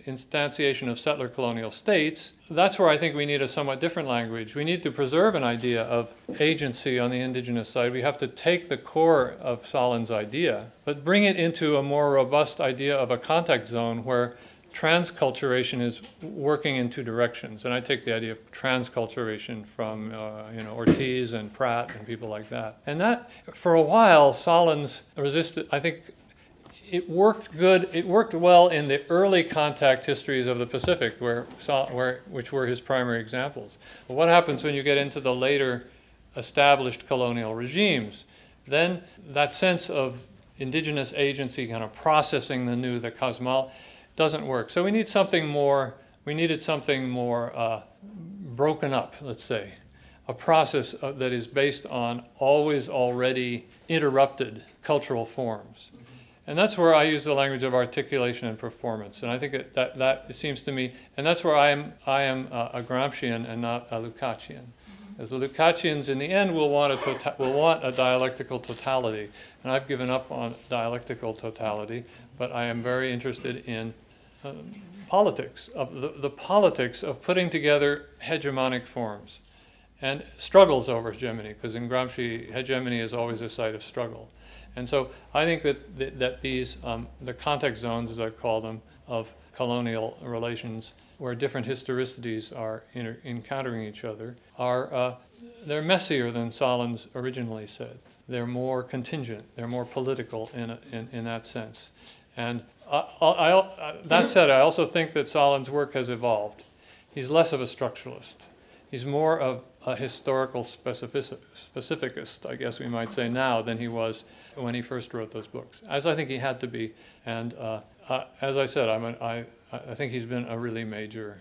instantiation of settler colonial states, that's where I think we need a somewhat different language. We need to preserve an idea of agency on the indigenous side. We have to take the core of Sahlins' idea, but bring it into a more robust idea of a contact zone where transculturation is working in two directions. And I take the idea of transculturation from uh, you know, Ortiz and Pratt and people like that. And that, for a while, Sahlins resisted, I think, it worked good. It worked well in the early contact histories of the Pacific, where, where, which were his primary examples. But what happens when you get into the later established colonial regimes? Then that sense of indigenous agency, kind of processing the new, the cosmol, doesn't work. So we need something more. We needed something more uh, broken up, let's say, a process uh, that is based on always already interrupted cultural forms. And that's where I use the language of articulation and performance. And I think that that, that it seems to me, and that's where I am I am a, a Gramscian and not a Lukácsian. As the Lukácsians, in the end, will want a tota- will want a dialectical totality. And I've given up on dialectical totality, but I am very interested in uh, politics, of the, the politics of putting together hegemonic forms and struggles over hegemony, because in Gramsci, hegemony is always a site of struggle. And so I think that that these, um, the context zones, as I call them, of colonial relations, where different historicities are inter- encountering each other, are uh, they're messier than Sahlins originally said. They're more contingent. They're more political in a, in, in that sense. And I, I, I, that said, I also think that Sahlins' work has evolved. He's less of a structuralist. He's more of a historical specific, specificist, I guess we might say now, than he was when he first wrote those books, as I think he had to be. And uh, uh, as I said, I'm an, I, I think he's been a really major,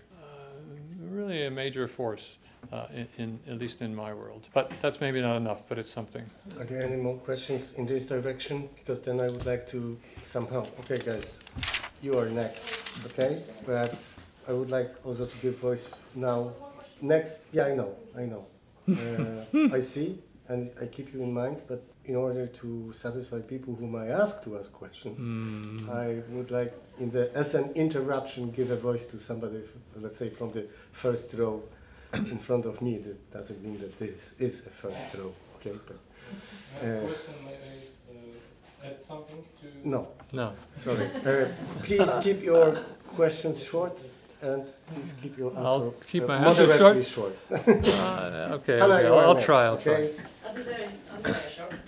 uh, really a major force, uh, in, in at least in my world. But that's maybe not enough, but it's something. Are there any more questions in this direction? Because then I would like to somehow, okay guys, you are next, okay? But I would like also to give voice now. Next, yeah, I know, I know. Uh, I see, and I keep you in mind, but in order to satisfy people whom I ask to ask questions, mm. I would like, in the as an interruption, give a voice to somebody, let's say from the first row in front of me. That doesn't mean that this is a first row, okay? But, uh, I have a question, may I uh, add something to... No. No. Sorry. Uh, please keep your questions short. And please keep your answer I'll keep my uh, answer moderately short. short. uh, okay, Hanna, okay. you I'll, are I'll next, try. I'll okay? try. I'll be very, I'll be very short.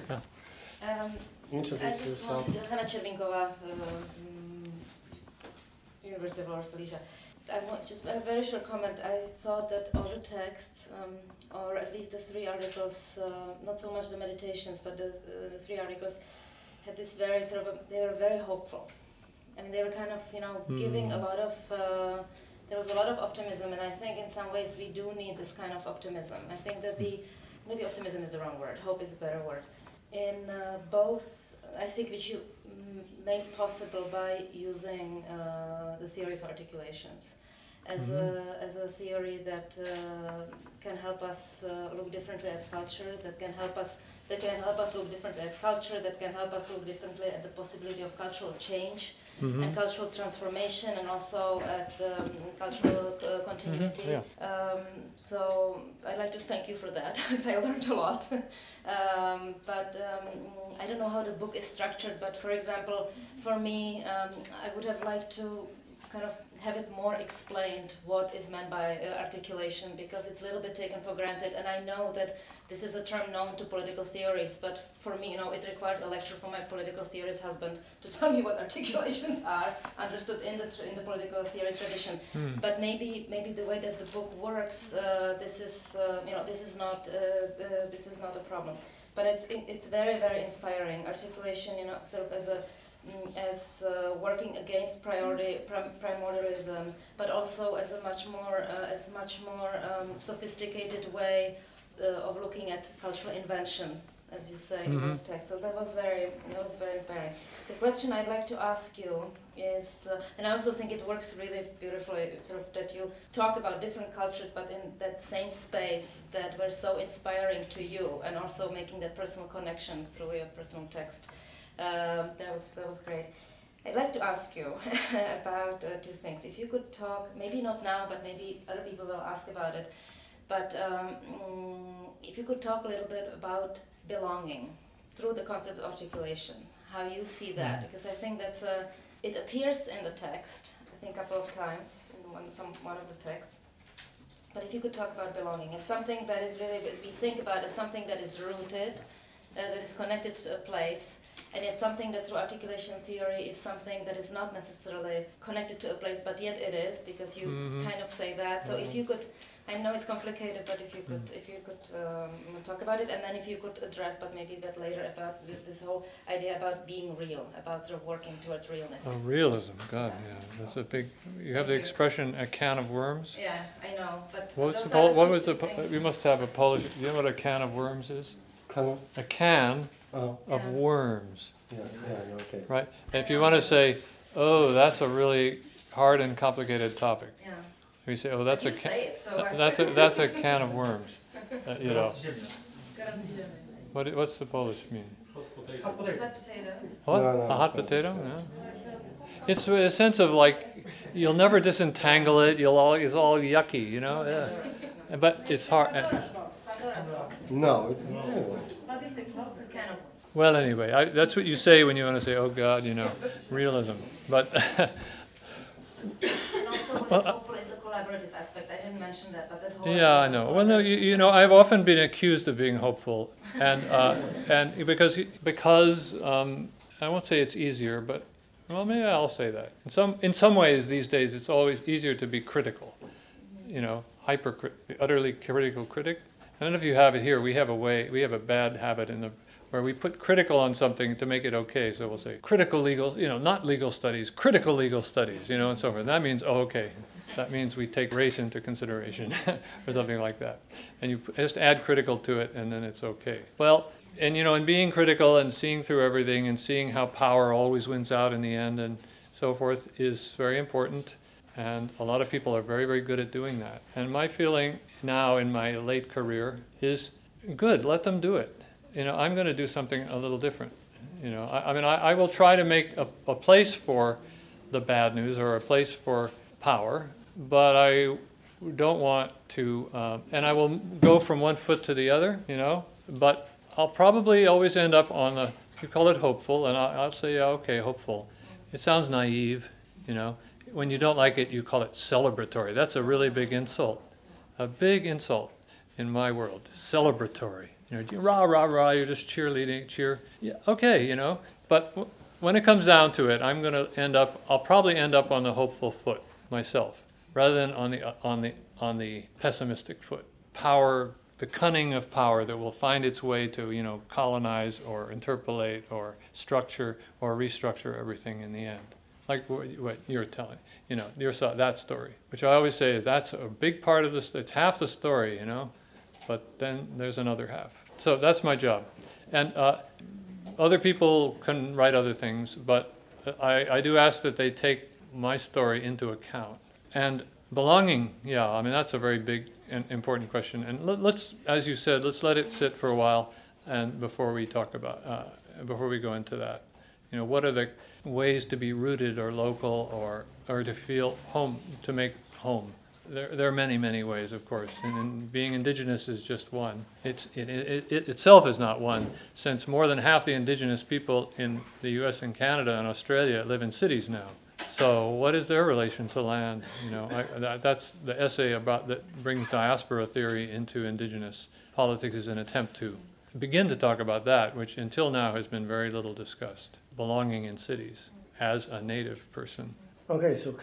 Yeah. Um, Introduce I just yourself. want to, Hanna Czerwinkova, um, University of Warsaw. I want just a very short comment. I thought that all the texts, um, or at least the three articles, uh, not so much the meditations, but the, uh, the three articles, had this very sort of, a, they were very hopeful. I mean, they were kind of, you know, mm. giving a lot of, uh, there was a lot of optimism, and I think in some ways we do need this kind of optimism. I think that the, maybe optimism is the wrong word, hope is a better word. In uh, both, I think which you made possible by using uh, the theory of articulations as, mm-hmm. a, as a theory that uh, can help us uh, look differently at culture, that can help us that can help us look differently at culture, that can help us look differently at the possibility of cultural change. Mm-hmm. And cultural transformation, and also at um, cultural uh, continuity. Mm-hmm. Yeah. Um, so I'd like to thank you for that, because I learned a lot. um, but um, I don't know how the book is structured, but for example, for me, um, I would have liked to kind of have it more explained what is meant by uh, articulation, because it's a little bit taken for granted, and I know that this is a term known to political theories, but for me, you know, it required a lecture from my political theorist husband to tell me what articulations are, understood in the tr- in the political theory tradition. Mm. But maybe maybe the way that the book works, uh, this is uh, you know this is not uh, uh, this is not a problem. But it's it's very very inspiring. Articulation, you know, sort of as a as uh, working against priority, prim- primordialism, but also as a much more uh, as much more um, sophisticated way uh, of looking at cultural invention, as you say mm-hmm. in those texts. So that was very that was very inspiring. The question I'd like to ask you is, uh, and I also think it works really beautifully, sort of that you talk about different cultures, but in that same space that were so inspiring to you, and also making that personal connection through your personal text. Um, that was that was great. I'd like to ask you about uh, two things. If you could talk, maybe not now, but maybe other people will ask about it. But um, mm, if you could talk a little bit about belonging through the concept of articulation, how you see that, because I think that's a, it appears in the text, I think a couple of times in one, some, one of the texts. But if you could talk about belonging as something that is really, as we think about, as something that is rooted, uh, that is connected to a place, and yet something that through articulation theory is something that is not necessarily connected to a place, but yet it is, because you mm-hmm. kind of say that. So mm-hmm. if you could, I know it's complicated, but if you could, mm-hmm. if you could um, talk about it, and then if you could address, but maybe a bit later, about this whole idea about being real, about sort of working towards realness. Oh, realism, God, yeah, yeah. That's a big. You have the expression "a can of worms." Yeah, I know, but what's the Pol- what was the? Po- we must have a Polish. Do you know what a can of worms is? Can a can oh. of yeah. worms. Yeah, yeah, okay. Right, and if you want to say, "Oh, that's a really hard and complicated topic," yeah. we say, "Oh, that's but a you can." Say it, so th- that's a that's a can of worms. Uh, you know. What what's the Polish mean? Hot potato. Hot potato. What? No, no, a hot it's not, potato? it's not. Yeah. It's a sense of like you'll never disentangle it. You'll all it's all yucky, you know. Yeah. But it's hard. Uh, No, it's not. Anyway. Well, anyway, I, that's what you say when you want to say, "Oh God," you know, realism. But and also, what is hopeful is the collaborative aspect. I didn't mention that, but that whole. Yeah, I know. Well, no, you, you know, I've often been accused of being hopeful, and uh, and because because um, I won't say it's easier, but well, maybe I'll say that. In some in some ways, these days, it's always easier to be critical. You know, hyper, utterly critical critic. I don't know if you have it here. We have a way. We have a bad habit in the where we put critical on something to make it okay. So we'll say critical legal, you know, not legal studies, critical legal studies, you know, and so forth. And that means, oh, okay, that means we take race into consideration or something like that. And you just add critical to it, and then it's okay. Well, and you know, in being critical and seeing through everything and seeing how power always wins out in the end and so forth is very important. And a lot of people are very, very good at doing that. And my feeling now in my late career is good, let them do it. You know, I'm going to do something a little different. You know, I, I mean, I, I will try to make a, a place for the bad news or a place for power, but I don't want to, uh, and I will go from one foot to the other, you know, but I'll probably always end up on the, you call it hopeful, and I'll, I'll say, yeah, okay, hopeful. It sounds naive, you know. When you don't like it, you call it celebratory. That's a really big insult, a big insult in my world, celebratory. You know, rah, rah, rah, you're just cheerleading, cheer. Yeah, okay, you know, but w- when it comes down to it, I'm going to end up, I'll probably end up on the hopeful foot myself, rather than on the, uh, on the, on the pessimistic foot. Power, the cunning of power that will find its way to, you know, colonize or interpolate or structure or restructure everything in the end. Like what, what you're telling, you know, your that story, which I always say that's a big part of this, it's half the story, you know. But then there's another half. So that's my job. And uh, other people can write other things, but I, I do ask that they take my story into account. And belonging, yeah, I mean, that's a very big and important question. And let, let's, as you said, let's let it sit for a while and before we talk about, uh, before we go into that. You know, what are the ways to be rooted or local or, or to feel home, to make home? There, there are many, many ways, of course, and, and being indigenous is just one. It's, it, it, it itself is not one, since more than half the indigenous people in the U S and Canada and Australia live in cities now. So what is their relation to land? You know, I, that, that's the essay about that brings diaspora theory into indigenous politics is an attempt to begin to talk about that, which until now has been very little discussed. Belonging in cities as a native person. Okay, so,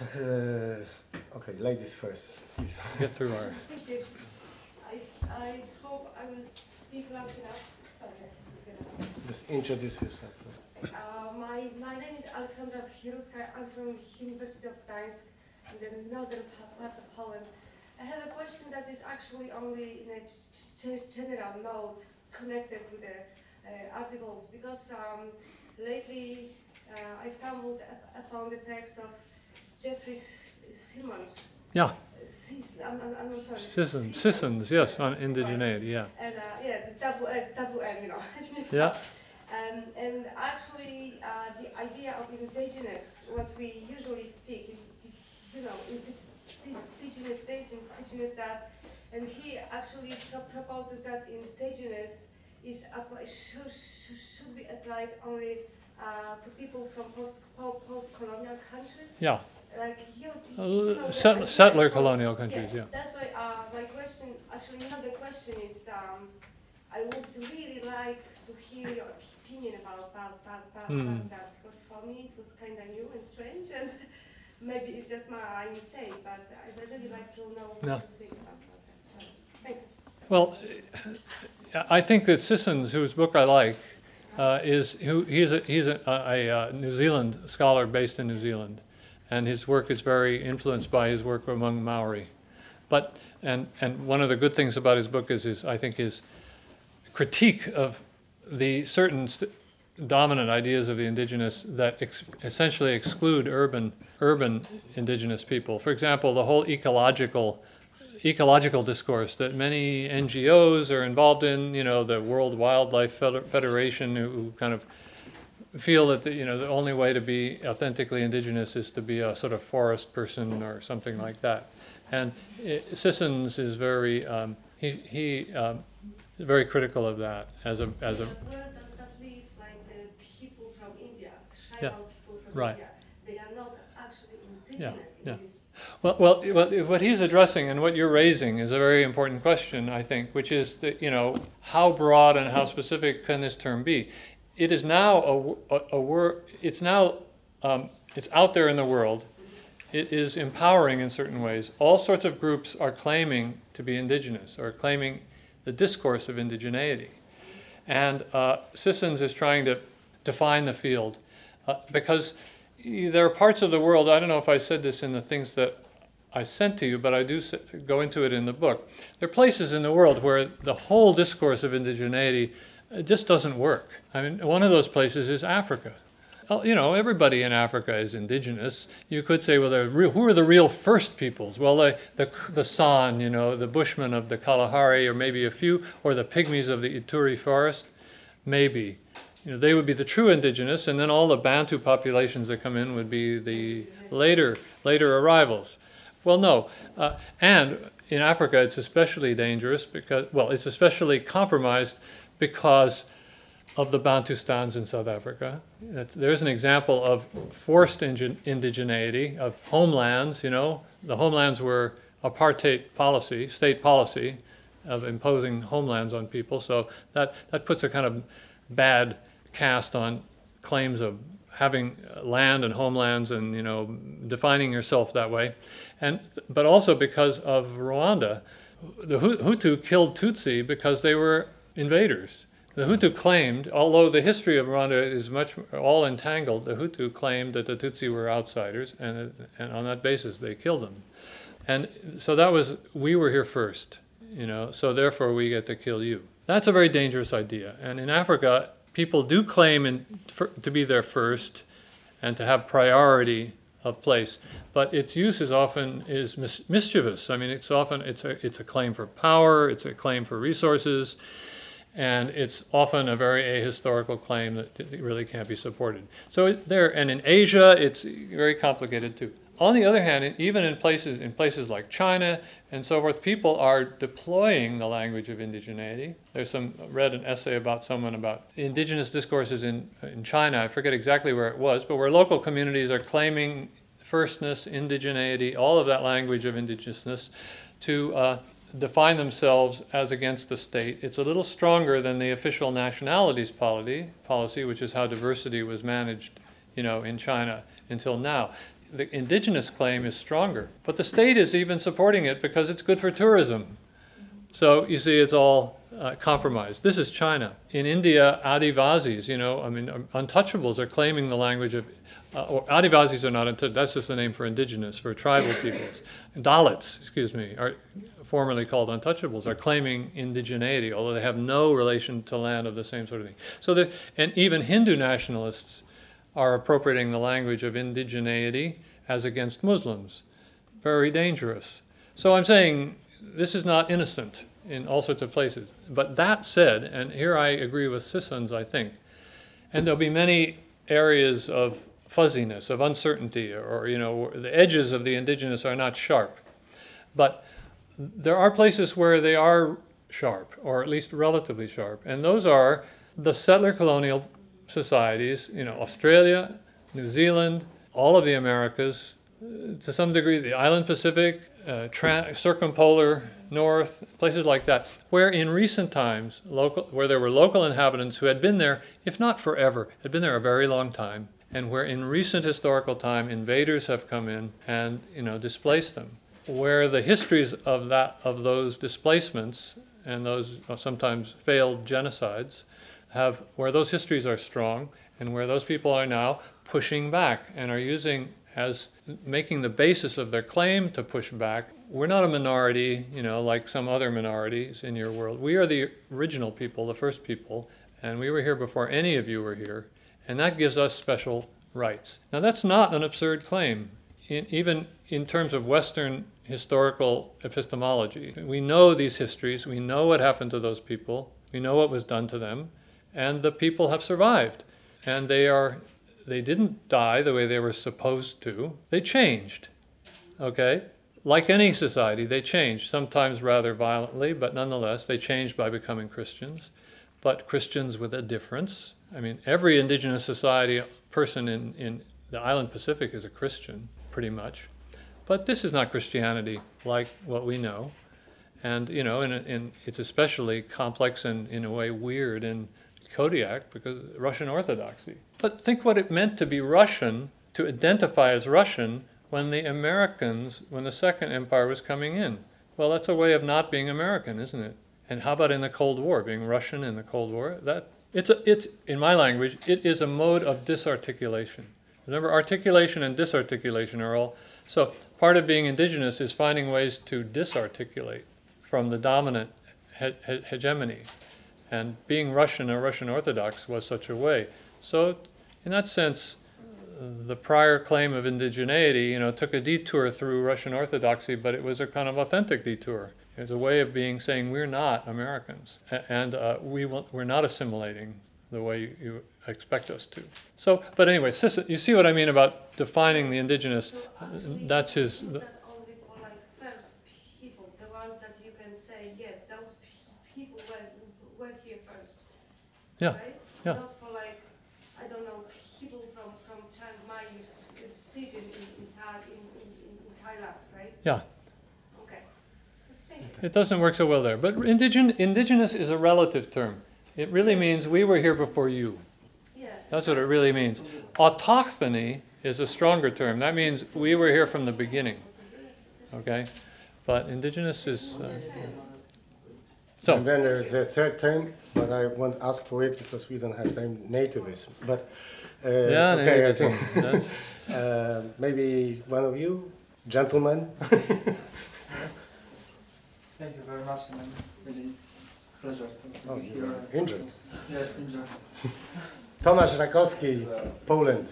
uh, okay, ladies first. Get through our... Thank you. I, I hope I will speak loud enough. Sorry. Just introduce yourself. Uh, my, my name is Aleksandra Wierucka. I'm from University of Gdańsk in the northern part of Poland. I have a question that is actually only in a g- general note connected with the uh, articles, because um, lately uh, I stumbled upon the text of Jeffrey Simmons. Yeah. Sis, I'm, I'm, I'm sorry. Sissons, Sissons, yes, on indigeneity, yeah. And uh, yeah, the double S, double N, you know. Yeah. And Um, and actually, uh, the idea of indigenous, what we usually speak, you know, indigenous this, indigenous that, and he actually pro- proposes that indigenous is apply, should, should be applied only uh, to people from post, post-colonial countries. Yeah. Like you, Uh, you know, set- the settler idea colonial was- countries, yeah. That's why uh, my question, actually not the question is, um, I would really like to hear your opinion about, about, about, about, Hmm. about that, because for me it was kind of new and strange, and maybe it's just my mistake, but I'd really like to know what Yeah. you think about that. So, thanks. Well, I think that Sissons, whose book I like, uh, is who he's a, he's a, a, a New Zealand scholar based in New Zealand, and his work is very influenced by his work among Maori. But and and one of the good things about his book is his I think his critique of the certain st- dominant ideas of the indigenous that ex- essentially exclude urban urban indigenous people. For example, the whole ecological ecological discourse that many N G Os are involved in, you know, the World Wildlife Feder- Federation, who, who kind of feel that the, you know the only way to be authentically indigenous is to be a sort of forest person or something like that. And it, Sissons is very um, he he um, very critical of that as a as a But where does that leave, like the people from India, tribal Yeah. people from Right. India? They are not actually Yeah, indigenous in yeah. this. Well, well, well, what he's addressing and what you're raising is a very important question, I think, which is that, you know, how broad and how specific can this term be? It is now a, a, a word. It's now um, it's out there in the world. It is empowering in certain ways. All sorts of groups are claiming to be indigenous or claiming the discourse of indigeneity, and uh, Sissons is trying to define the field uh, because there are parts of the world. I don't know if I said this in the things that I sent to you, but I do go into it in the book. There are places in the world where the whole discourse of indigeneity just doesn't work. I mean, one of those places is Africa. Well, you know, everybody in Africa is indigenous. You could say, well, they're real, who are the real first peoples? Well, the, the the San, you know, the Bushmen of the Kalahari, or maybe a few, or the Pygmies of the Ituri forest, maybe. You know, they would be the true indigenous, and then all the Bantu populations that come in would be the later later arrivals. Well, no, uh, and in Africa it's especially dangerous because, well, it's especially compromised because of the Bantustans in South Africa. There's an example of forced indigeneity of homelands. You know, the homelands were apartheid policy, state policy, of imposing homelands on people. So that that puts a kind of bad cast on claims of having land and homelands and, you know, defining yourself that way. And but also because of Rwanda, the Hutu killed Tutsi because they were invaders. The Hutu claimed, although the history of Rwanda is much all entangled, the Hutu claimed that the Tutsi were outsiders, and and on that basis they killed them. And so that was, we were here first, you know, so therefore we get to kill you. That's a very dangerous idea. And in Africa, people do claim in, for, to be there first and to have priority of place, but its use is often is mis- mischievous. I mean, it's often it's a it's a claim for power, it's a claim for resources, and it's often a very ahistorical claim that really can't be supported. So there, and in Asia, it's very complicated too. On the other hand, even in places in places like China and so forth, people are deploying the language of indigeneity. There's some read an essay about someone about indigenous discourses in in China. I forget exactly where it was, but where local communities are claiming firstness, indigeneity, all of that language of indigenousness, to uh, define themselves as against the state. It's a little stronger than the official nationalities policy, policy, which is how diversity was managed, you know, in China until now. The indigenous claim is stronger, but the state is even supporting it because it's good for tourism. So you see, it's all uh, compromised. This is China. In India, Adivasis, you know, I mean, untouchables are claiming the language of, uh, or Adivasis are not, untouchables, that's just the name for indigenous, for tribal peoples. Dalits, excuse me, are formerly called untouchables, are claiming indigeneity, although they have no relation to land of the same sort of thing. So that, and even Hindu nationalists are appropriating the language of indigeneity as against Muslims. Very dangerous. So I'm saying this is not innocent in all sorts of places. But that said, and here I agree with Sissons, I think, And there'll be many areas of fuzziness, of uncertainty, or, you know, the edges of the indigenous are not sharp. But there are places where they are sharp, or at least relatively sharp, and those are the settler colonial societies, you know, Australia, New Zealand, all of the Americas, uh, to some degree the island Pacific, uh, tra- circumpolar North, places like that, where in recent times, local, where there were local inhabitants who had been there, if not forever, had been there a very long time, and where in recent historical time invaders have come in and, you know, displaced them. Where the histories of that of those displacements and those sometimes failed genocides have, where those histories are strong, and where those people are now pushing back and are using as making the basis of their claim to push back. We're not a minority, you know, like some other minorities in your world. We are the original people, the first people, and we were here before any of you were here, and that gives us special rights. Now that's not an absurd claim, in, even in terms of Western historical epistemology. We know these histories, we know what happened to those people, we know what was done to them, and the people have survived. And they are, they didn't die the way they were supposed to. They changed, okay? Like any society, they changed, sometimes rather violently, but nonetheless, they changed by becoming Christians. But Christians with a difference. I mean, every indigenous society person in, in the island Pacific is a Christian, pretty much. But this is not Christianity like what we know. And, you know, in, in, it's especially complex and, in a way, weird in Kodiak because Russian Orthodoxy. But think what it meant to be Russian, to identify as Russian, when the Americans, when the Second Empire was coming in. Well, that's a way of not being American, isn't it? And how about in the Cold War, being Russian in the Cold War? That it's a, it's in my language, it is a mode of disarticulation. Remember, articulation and disarticulation are all. So part of being indigenous is finding ways to disarticulate from the dominant he- he- hegemony. And being Russian or Russian Orthodox was such a way. So in that sense, the prior claim of indigeneity, you know, took a detour through Russian Orthodoxy, but it was a kind of authentic detour. It was a way of being saying we're not Americans, and uh, we will, we're not assimilating the way you, you expect us to. So, but anyway, you see what I mean about defining the indigenous. So actually, that's his. is that only for like first people, the ones that you can say, yeah, those people were were here first. Yeah. Right? Yeah. Not for like, I don't know, people from from Chiang Mai region in in, Tha- in, in, in Thailand, right? Yeah. Okay. Thank you. It doesn't work so well there. But indigen, indigenous is a relative term. It really means we were here before you. Yeah. That's what it really means. Autochthony is a stronger term. That means we were here from the beginning. Okay? But indigenous is... Uh, so. And then there's a third term, but I won't ask for it because we don't have time, nativism. But, uh, Yeah, okay, I nativism. think That's, uh, maybe one of you, gentlemen. Thank you very much, and I'm really it's a pleasure to Oh, be you here. are injured. Yes, injured. Tomasz Rakowski, Poland.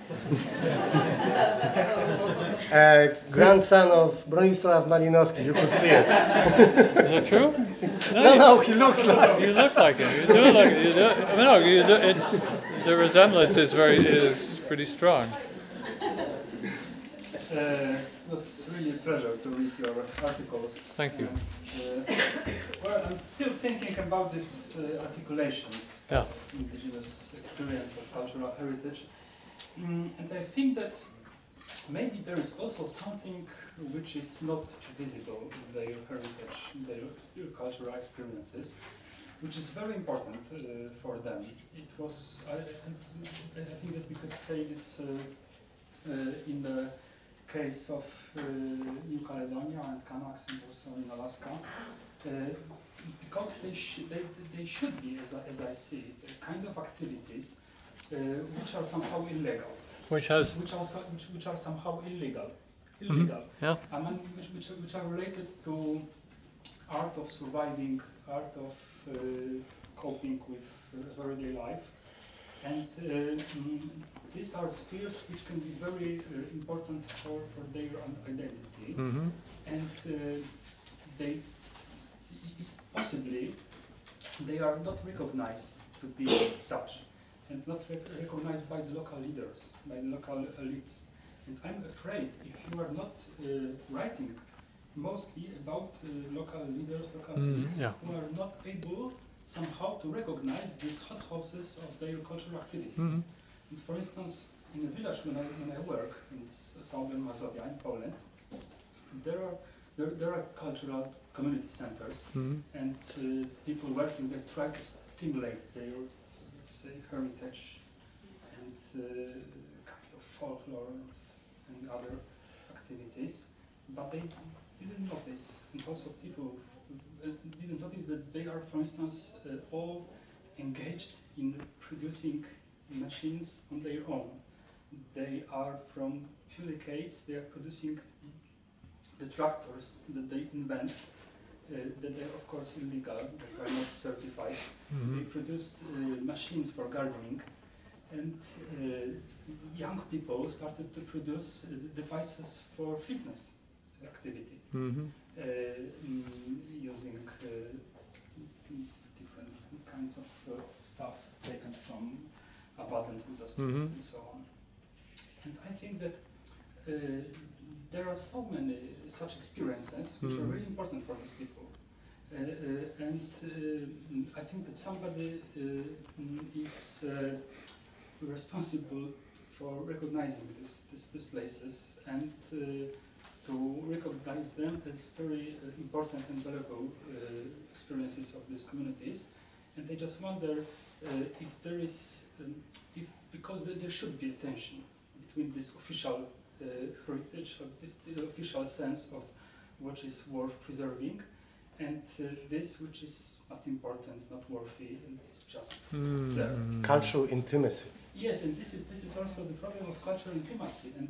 uh, grandson of Bronisław Malinowski, you could see it. is that true? No, no, he looks like You look like him. You do look. You do. I mean, no, you do. It's the resemblance is very is pretty strong. Uh, it was really a pleasure to read your articles. Thank you. And, uh, well, I'm still thinking about these uh, articulations Yeah. of indigenous experience of cultural heritage. Mm, and I think that maybe there is also something which is not visible in their heritage, in their exp- cultural experiences, which is very important uh, for them. It was, I, I, I think that we could say this uh, uh, in the case of uh, New Caledonia and Kanaks and also in Alaska, uh, because they, sh- they, they should be, as I, as I see it, a kind of activities uh, which are somehow illegal. Which has. Which are, so- which, which are somehow illegal. Illegal. Yeah. I mean, which, which, are- which are related to art of surviving, art of uh, coping with uh, everyday life. And uh, mm, these are spheres which can be very uh, important for, for their un- identity. Mm-hmm. And uh, they possibly they are not recognized to be such. and not rec recognized by the local leaders, by the local elites. And I'm afraid if you are not uh, writing mostly about uh, local leaders, local Mm, elites, yeah. who are not able somehow to recognize these hothouses of their cultural activities. Mhm. And for instance, in a village when I, when I work in southern Mazovia in Poland, there are there, there are cultural community centers, Mhm. and uh, people working there try to stimulate their, let's say, heritage and uh, kind of folklore and, and other activities, but they didn't notice, and also people uh, didn't notice that they are, for instance, uh, all engaged in producing machines on their own. They are, from few decades, they are producing the tractors that they invent, uh, that they are of course illegal, that are not certified. Mhm. They produced uh, machines for gardening, and uh, young people started to produce uh, devices for fitness activity, Mhm. uh, mm, using uh, different kinds of uh, stuff taken from abandoned industries Mhm. and so on. And I think that uh, there are so many such experiences which are Mhm. really important for these people. Uh, uh, and uh, I think that somebody uh, is uh, responsible for recognizing this, this, these places and uh, to recognize them as very uh, important and valuable uh, experiences of these communities. And I just wonder uh, if there is, um, if because there, there should be a tension between this official uh, heritage, of the, the official sense of what is worth preserving, and uh, this which is not important, not worthy, and it's just Mhm. there. Cultural intimacy. Yes, and this is this is also the problem of cultural intimacy. And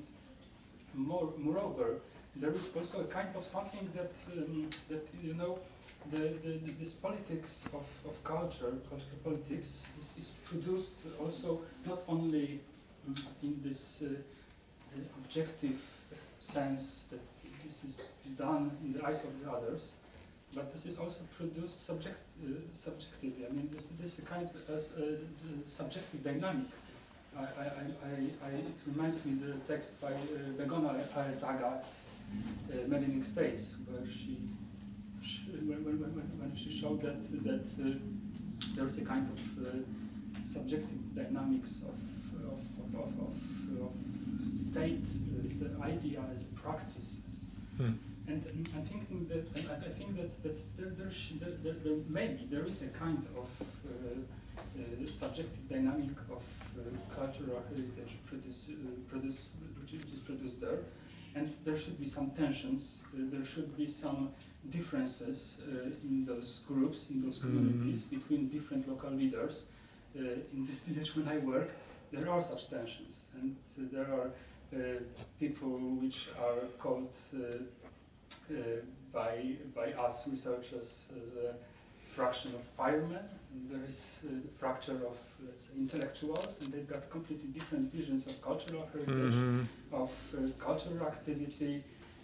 more, moreover, there is also a kind of something that um, that you know, the, the, the this politics of, of culture, cultural politics, is, is produced also not only um, in this uh, uh, objective sense that this is done in the eyes of the others, but this is also produced subject, uh, subjectively. I mean, this, this is a kind of uh, uh, subjective dynamic. I, I, I, I, it reminds me the text by uh, Begona Aretaga, uh, Medaling States, where she, she when, when, when, when she showed that that uh, there is a kind of uh, subjective dynamics of of of, of, of, of state, uh, as an idea, as a practice. Hmm. And um, I'm thinking that, and I, I think that that there, there, sh there, there, there maybe there is a kind of uh, uh, subjective dynamic of uh, cultural heritage produce, uh, produce, which, is, which is produced there, and there should be some tensions. Uh, there should be some differences uh, in those groups, in those communities, mm-hmm. between different local leaders. Uh, in this village, when I work, there are such tensions, and uh, there are uh, people which are called. Uh, Uh, by by us researchers as a fraction of firemen. And there is a fracture of, let's say, intellectuals, and they've got completely different visions of cultural heritage, Mhm. of uh, cultural activity,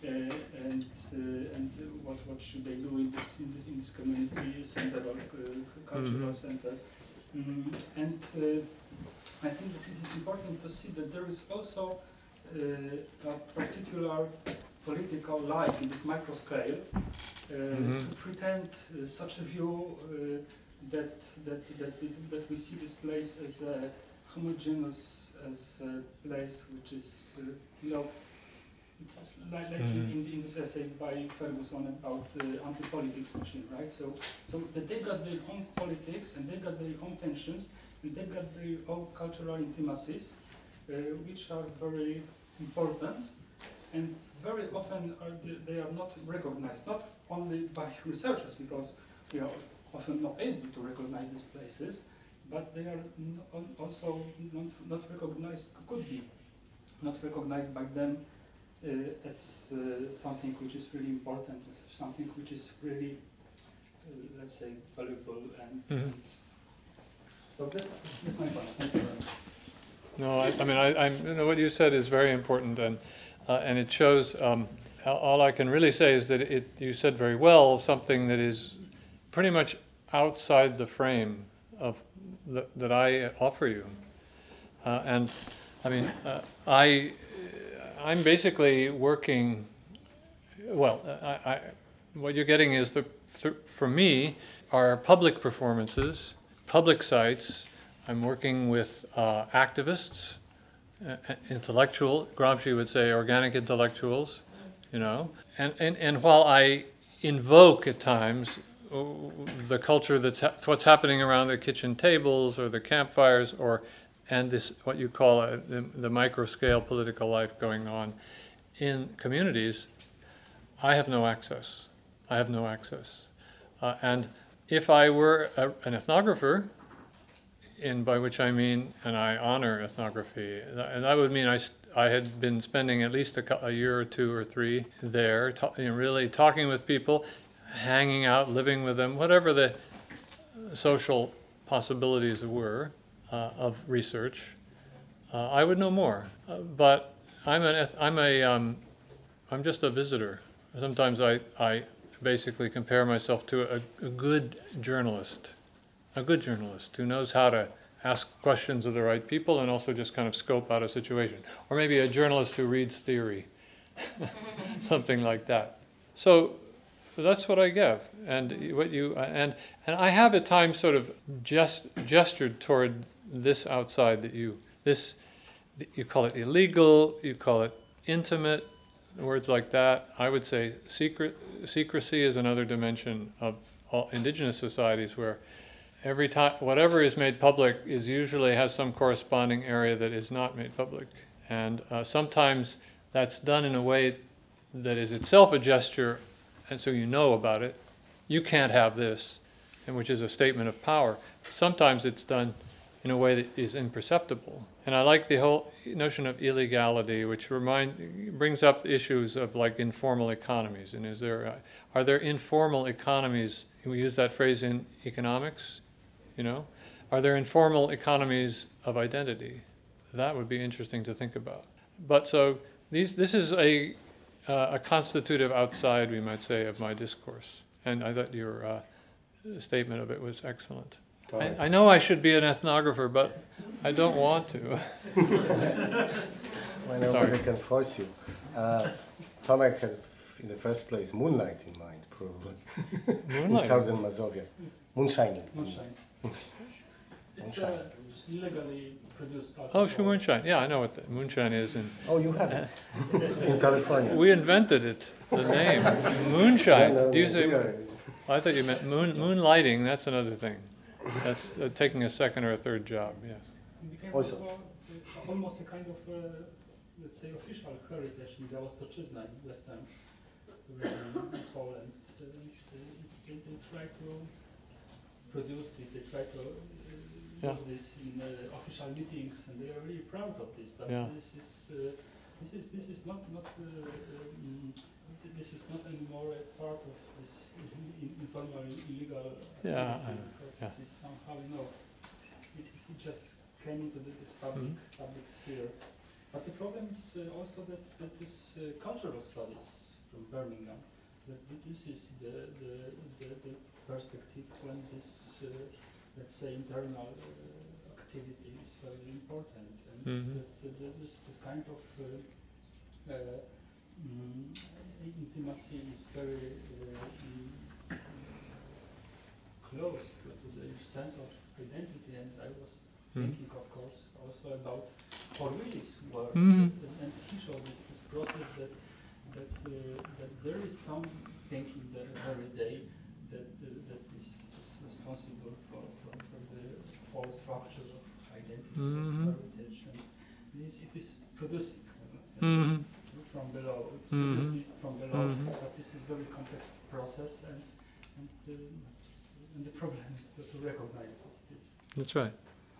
uh, and uh, and uh, what what should they do in this in this in this community center or uh, cultural Mhm. center. Mm, and uh, I think that it is important to see that there is also uh, a particular political life in this micro scale, uh, Mhm. to pretend uh, such a view uh, that that that it, that we see this place as a homogeneous, as a place which is, uh, you know, it's like, like Mhm. in, in this essay by Ferguson about uh, anti-politics machine, right? So so that they got their own politics and they got their own tensions and they got their own cultural intimacies, uh, which are very important. And very often are the, they are not recognized, not only by researchers, because we are often not able to recognize these places, but they are n also not, not recognized, could be not recognized by them uh, as uh, something which is really important, as something which is really, uh, let's say, valuable. And, Mhm. and so that's, that's my point. Thank you very much. No, I, I mean, I, I, you know, what you said is very important, and uh, and it shows. Um, all I can really say is that it. You said very well something that is pretty much outside the frame of th- that I offer you. Uh, and I mean, uh, I I'm basically working. Well, I, I what you're getting is the th- for me are public performances, public sites. I'm working with uh, activists, uh, intellectual. Gramsci would say organic intellectuals, you know. And and and while I invoke at times the culture that's ha- what's happening around the kitchen tables or the campfires, or and this what you call a, the, the micro scale political life going on in communities, I have no access. I have no access. Uh, and if I were a, an ethnographer, in by which I mean, and I honor ethnography, and that would mean I, I had been spending at least a, a year or two or three there, ta- you know, really talking with people, hanging out, living with them, whatever the social possibilities were uh, of research, uh, I would know more. Uh, but I'm an eth- I'm a um, I'm just a visitor. Sometimes I, I basically compare myself to a, a good journalist, a good journalist who knows how to ask questions of the right people and also just kind of scope out a situation. Or maybe a journalist who reads theory, something like that. So that's what I give. And what you and and I have at times sort of just gestured toward this outside that you this you call it illegal, you call it intimate, words like that. I would say secret secrecy is another dimension of all indigenous societies where every time whatever is made public is usually has some corresponding area that is not made public, and uh, sometimes that's done in a way that is itself a gesture, and so you know about it. You can't have this, and which is a statement of power. Sometimes it's done in a way that is imperceptible. And I like the whole notion of illegality, which remind brings up issues of like informal economies. And is there uh, are there informal economies? We use that phrase in economics, you know. Are there informal economies of identity? That would be interesting to think about. But so these this is a uh, a constitutive outside, we might say, of my discourse. And I thought your uh, statement of it was excellent. I, I know I should be an ethnographer, but I don't want to. Well, nobody can force you. Uh, Tomek had, in the first place, moonlight in mind, probably. Moonlight? In southern Mazovia. Moonshining. Moonshine. It's uh, illegally produced alcohol. Oh, sure, moonshine. Yeah, I know what the moonshine is. And Oh, you have it. In California. we invented it, the name. Moonshine. Yeah, no, Do you we say? are- I thought you meant moon moonlighting. That's another thing. That's uh, taking a second or a third job. Yeah. It became Also- also uh, almost a kind of, uh, let's say, official heritage in Białostocczyzna in western region in Poland. Uh, they, they try to produce this, they try to uh, Yeah. use this in uh, official meetings, and they are really proud of this. But Yeah. this is uh, this is this is not not uh, um, this is not anymore a part of this in- informal illegal Yeah, activity, I- because yeah. this somehow, you know, it, it just came into the, this public Mhm. public sphere. But the problem is uh, also that, that this uh, cultural studies from Birmingham, that th- this is the, the, the, the perspective when this, uh, let's say, internal uh, activity is very important, and Mhm. that, that, that this, this kind of uh, uh, mm, intimacy is very uh, mm, close to, to the sense of identity. And I was Mhm. thinking, of course, also about Orwell's work, Mhm. and, and he showed this, this process that that, uh, that there is something in the every day that uh, that is, is responsible for, for, for the whole structure of identity, Mhm. of heritage, and this it is producing uh, Mhm. from below. It's Mhm. producing from below, Mhm. but this is very complex process, and and, uh, and the problem is to, to recognize this. this. That's right.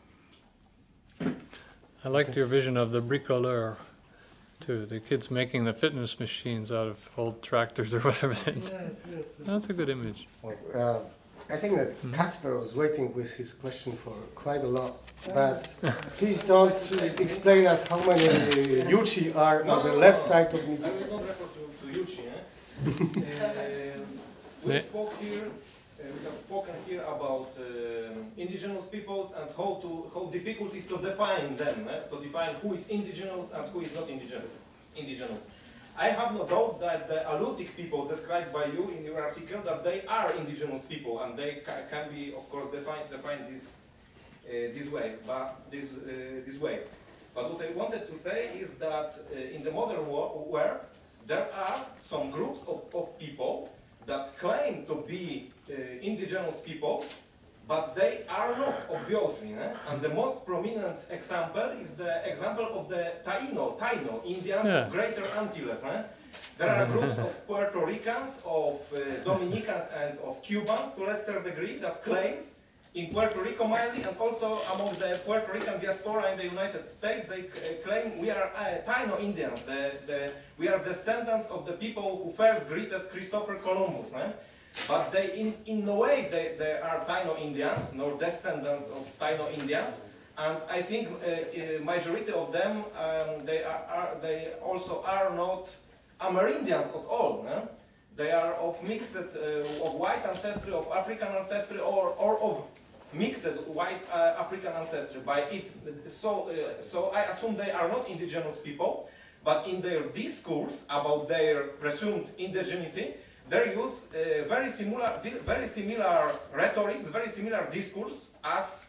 I liked your vision of the bricoleur, too. The kids making the fitness machines out of old tractors or whatever. Yes, yes. That's, That's a good image. Well, uh, I think that Hmm. Kasper was waiting with his question for quite a lot, but please don't explain us how many uh, Yuchi are on the left side of I Mizu. will not refer to, to Yuchi. Eh? Uh, we Ne- spoke here we have spoken here about uh, indigenous peoples and how to how difficult it is to define them, eh? to define who is indigenous and who is not indigenous. indigenous. I have no doubt that the Alutiiq people described by you in your article, that they are indigenous people and they ca can be, of course, defined defined this uh, this way, but this uh, this way. But what I wanted to say is that uh, in the modern world, there are some groups of, of people that claim to be uh, indigenous peoples, but they are not, obviously. Eh? And the most prominent example is the example of the Taino, Taino Indians Yeah. of Greater Antilles. Eh? There are groups of Puerto Ricans, of uh, Dominicans, and of Cubans to a lesser degree that claim, in Puerto Rico mainly, and also among the Puerto Rican diaspora in the United States, they uh, claim we are uh, Taino Indians. The, the, we are descendants of the people who first greeted Christopher Columbus. Eh? But they, in, in no way, they, they are Taino Indians, nor descendants of Taino Indians. And I think uh, uh, majority of them, um, they, are, are, they also are not Amerindians at all. Eh? They are of mixed, uh, of white ancestry, of African ancestry, or, or of mixed white uh, African ancestry by it. So, uh, so I assume they are not indigenous people, but in their discourse about their presumed indigeneity, they use uh, very similar, very similar rhetorics, very similar discourse as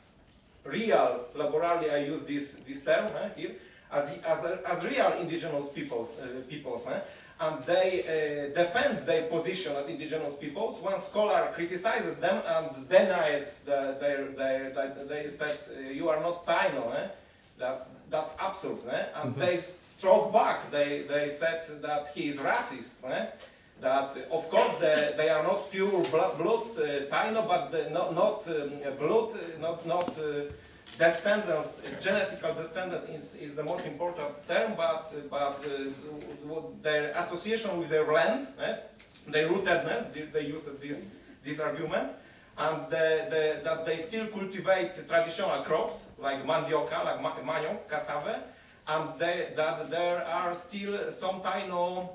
real, laborally I use this, this term eh, here, as, as, as real indigenous peoples, uh, peoples eh? And they uh, defend their position as indigenous peoples. One scholar criticized them and denied the, their, their, their, they said, uh, you are not Taino, eh? that's, that's absurd. Eh? And mm-hmm. they struck back, they, they said that he is racist. Eh? That, of course, the, they are not pure blood, blood uh, Taino, but the, not, not um, blood, not, not uh, descendants, genetical descendants is, is the most important term, but, but uh, their association with their land, eh, their rootedness, they, they used this, this argument, and the, the, that they still cultivate traditional crops, like mandioca, like manioc, cassava, and they, that there are still some Taino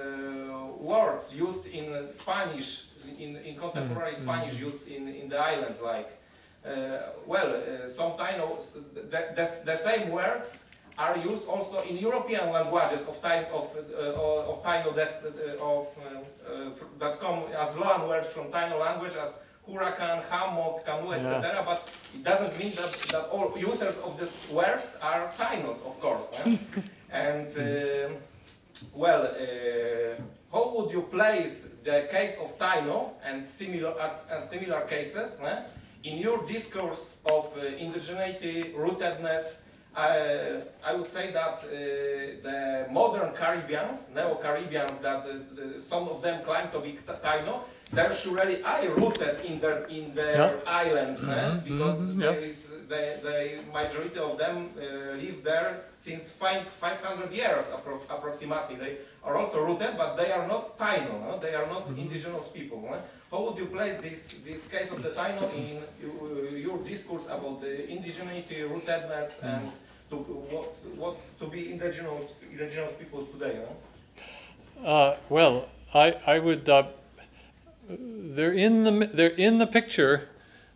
uh, words used in Spanish, in, in contemporary mm-hmm. Spanish used in, in the islands, like Uh, well, uh, some Taino, the, the, the same words are used also in European languages of Taino, of, uh, of Taino uh, of, uh, uh, that come as loan words from Taino language as huracan, hammock, canoe, et cetera. Yeah. But it doesn't mean that, that all users of these words are Tainos, of course. Eh? And uh, well, uh, how would you place the case of Taino and similar and similar cases? Eh? In your discourse of uh, indigeneity, rootedness, uh, I would say that uh, the modern Caribbeans, Neo-Caribbeans, that uh, the, some of them claim to be Taino, they're surely I rooted in their in their yeah. islands, mm-hmm. eh? because mm-hmm. there yeah. is the, the majority of them uh, live there since five five hundred years appro approximately. They are also rooted, but they are not Taino. No? They are not mm-hmm. indigenous people. No? How would you place this this case of the Taino in uh, your discourse about the indigeneity, rootedness, mm-hmm. and to what what to be indigenous indigenous peoples today? No? Uh, well, I I would. Uh, They're in the they're in the picture,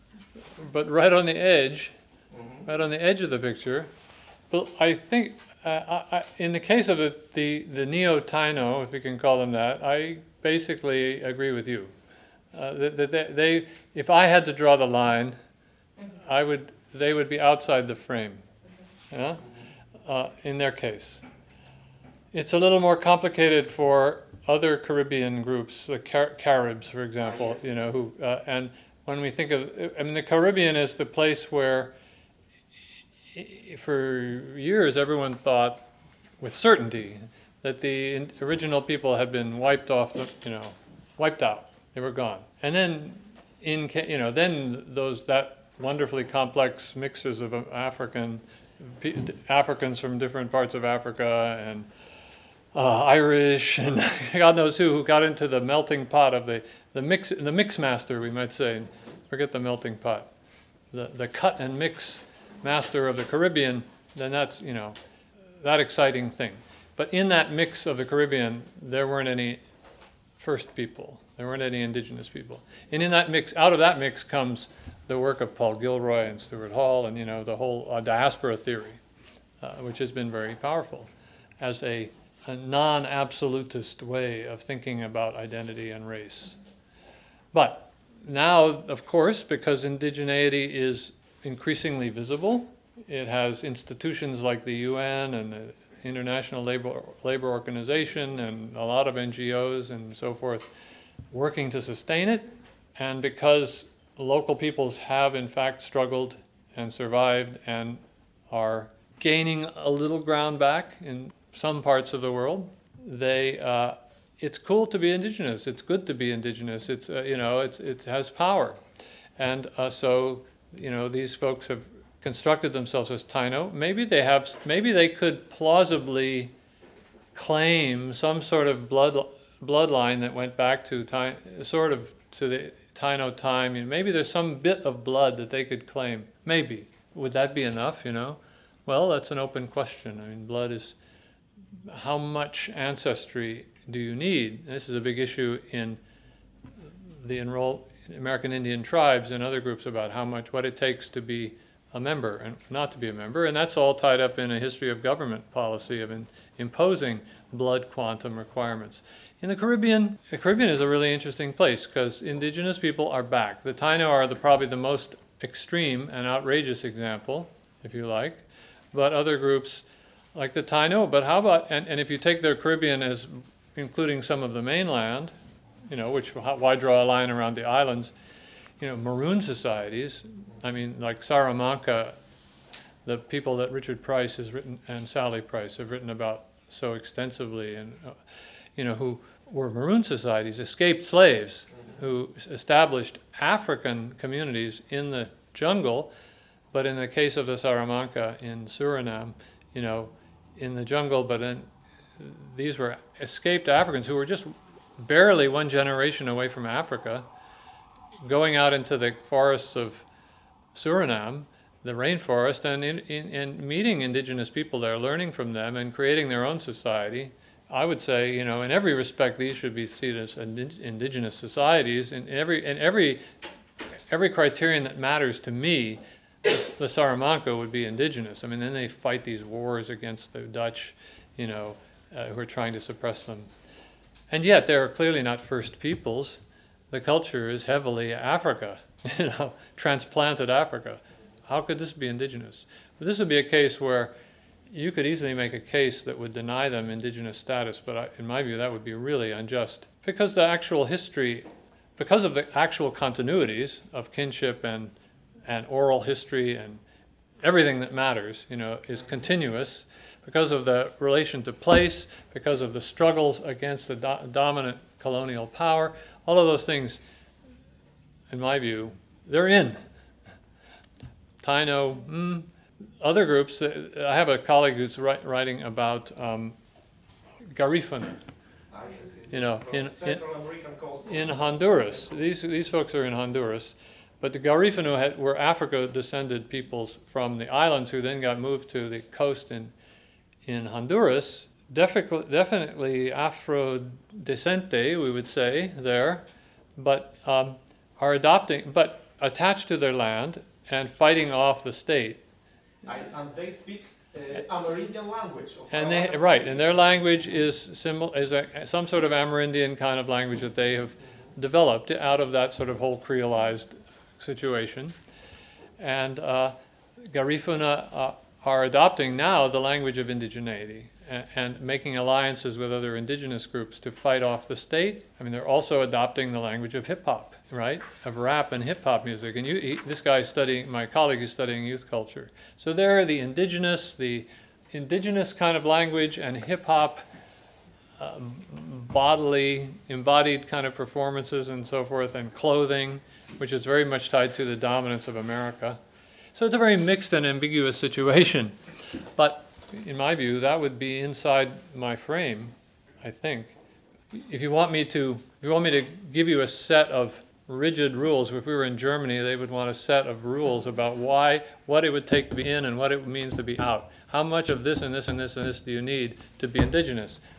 but right on the edge, mm-hmm. right on the edge of the picture. But I think uh, I, I, in the case of the the, the Neo-Taino, if we can call them that, I basically agree with you. Uh, that, that they, they, if I had to draw the line, mm-hmm. I would they would be outside the frame. Mm-hmm. Yeah? Uh, in their case, it's a little more complicated for other Caribbean groups, the Car- Caribs, for example, you know, who uh, and when we think of, I mean, the Caribbean is the place where, for years, everyone thought, with certainty, that the original people had been wiped off, the, you know, wiped out. They were gone, and then, in you know, then those that wonderfully complex mixes of African Africans from different parts of Africa and. Uh, Irish and God knows who, who got into the melting pot of the, the mix the mix master, we might say. Forget the melting pot. The the cut and mix master of the Caribbean, then that's, you know, that exciting thing. But in that mix of the Caribbean, there weren't any first people. There weren't any indigenous people. And in that mix, out of that mix comes the work of Paul Gilroy and Stuart Hall and, you know, the whole uh, diaspora theory, uh, which has been very powerful as a, a non-absolutist way of thinking about identity and race. But now, of course, because indigeneity is increasingly visible, it has institutions like the U N and the International Labor, Labor Organization and a lot of N G Os and so forth working to sustain it. And because local peoples have in fact struggled and survived and are gaining a little ground back in some parts of the world, they uh, it's cool to be indigenous. It's good to be indigenous. It's uh, you know it's it has power, and uh, so you know these folks have constructed themselves as Taino. Maybe they have. Maybe they could plausibly claim some sort of blood bloodline that went back to time, sort of to the Taino time. You know, maybe there's some bit of blood that they could claim. Maybe would that be enough? You know, well, that's an open question. I mean, blood is how much ancestry do you need? And this is a big issue in the enroll American Indian tribes and other groups about how much, what it takes to be a member and not to be a member. And that's all tied up in a history of government policy of in, imposing blood quantum requirements. In the Caribbean, the Caribbean is a really interesting place because indigenous people are back. The Taino are the, probably the most extreme and outrageous example, if you like, but other groups like the Taino, but how about, and, and if you take their Caribbean as including some of the mainland, you know, which, why draw a line around the islands? You know, maroon societies, I mean, like Salamanca, the people that Richard Price has written, and Sally Price have written about so extensively, and, uh, you know, who were maroon societies, escaped slaves, who established African communities in the jungle, but in the case of the Salamanca in Suriname, you know, in the jungle, but then these were escaped Africans who were just barely one generation away from Africa, going out into the forests of Suriname, the rainforest, and, in, in, and meeting indigenous people there, learning from them and creating their own society. I would say, you know, in every respect, these should be seen as indigenous societies. In every, in every, every criterion that matters to me, the, the Salamanca would be indigenous. I mean, then they fight these wars against the Dutch, you know, uh, who are trying to suppress them. And yet, they are clearly not first peoples. The culture is heavily Africa, you know, transplanted Africa. How could this be indigenous? But this would be a case where you could easily make a case that would deny them indigenous status, but I, in my view, that would be really unjust. Because the actual history, because of the actual continuities of kinship and, and oral history and everything that matters, you know, is continuous, because of the relation to place, because of the struggles against the do- dominant colonial power, all of those things, in my view, they're in. Taino, mm, other groups, uh, I have a colleague who's write, writing about um, Garifuna, Ah, yes, yes, you know, from in, in, Central American coast. in Honduras. These, these folks are in Honduras. But the Garifuna had, were Africa-descended peoples from the islands who then got moved to the coast in, in Honduras. Definitely, definitely Afro-descente, we would say, there, but um, are adopting, but attached to their land and fighting off the state. I, and they speak uh, Amerindian language. Of And they, our- right, and their language is symbol is a, some sort of Amerindian kind of language that they have developed out of that sort of whole creolized situation. And uh, Garifuna uh, are adopting now the language of indigeneity and, and making alliances with other indigenous groups to fight off the state. I mean, they're also adopting the language of hip hop, right? Of rap and hip hop music. And you, he, this guy is studying, my colleague is studying youth culture. So there are the indigenous, the indigenous kind of language and hip hop, um, bodily, embodied kind of performances and so forth, and clothing, which is very much tied to the dominance of America. So it's a very mixed and ambiguous situation. But in my view, that would be inside my frame, I think. If you want me to, if you want me to give you a set of rigid rules, if we were in Germany, they would want a set of rules about why, what it would take to be in and what it means to be out. How much of this and this and this and this do you need to be indigenous?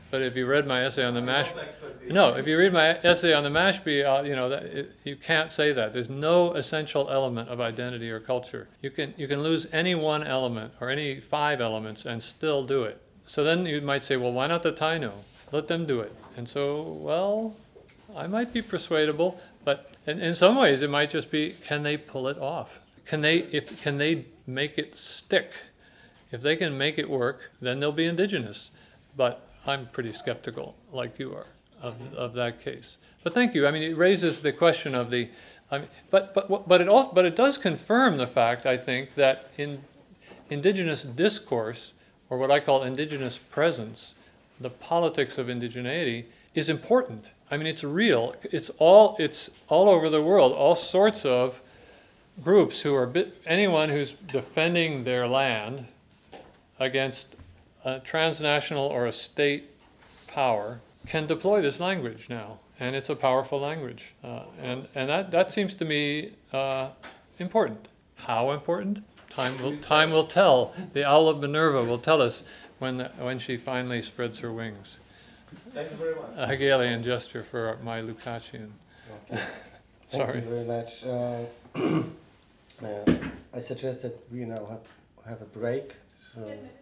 but if you read my essay on the I mash, don't expect this. no, if you read my essay on the Mashpee, uh, you know, that it, you can't say that. There's no essential element of identity or culture. You can you can lose any one element or any five elements and still do it. So then you might say, well, why not the Taino? Let them do it. And so, well, I might be persuadable, but in, in some ways it might just be, can they pull it off? Can they if can they make it stick? If they can make it work, then they'll be indigenous. But I'm pretty skeptical, like you are, of, of that case. But thank you. I mean, it raises the question of the, I mean, but but but it also, but it does confirm the fact, I think, that in indigenous discourse, or what I call indigenous presence, the politics of indigeneity is important. I mean, it's real. It's all it's all over the world. All sorts of groups who are bit, anyone who's defending their land against a transnational or a state power can deploy this language now, and it's a powerful language, uh, and and that that seems to me uh, important. How important? Time will time will tell. The owl of Minerva will tell us when the, when she finally spreads her wings. Thanks very much. A Hegelian gesture for my Lukácsian. Okay. Thank Sorry. you very much. Uh, uh, I suggest that we now have, have a break. So.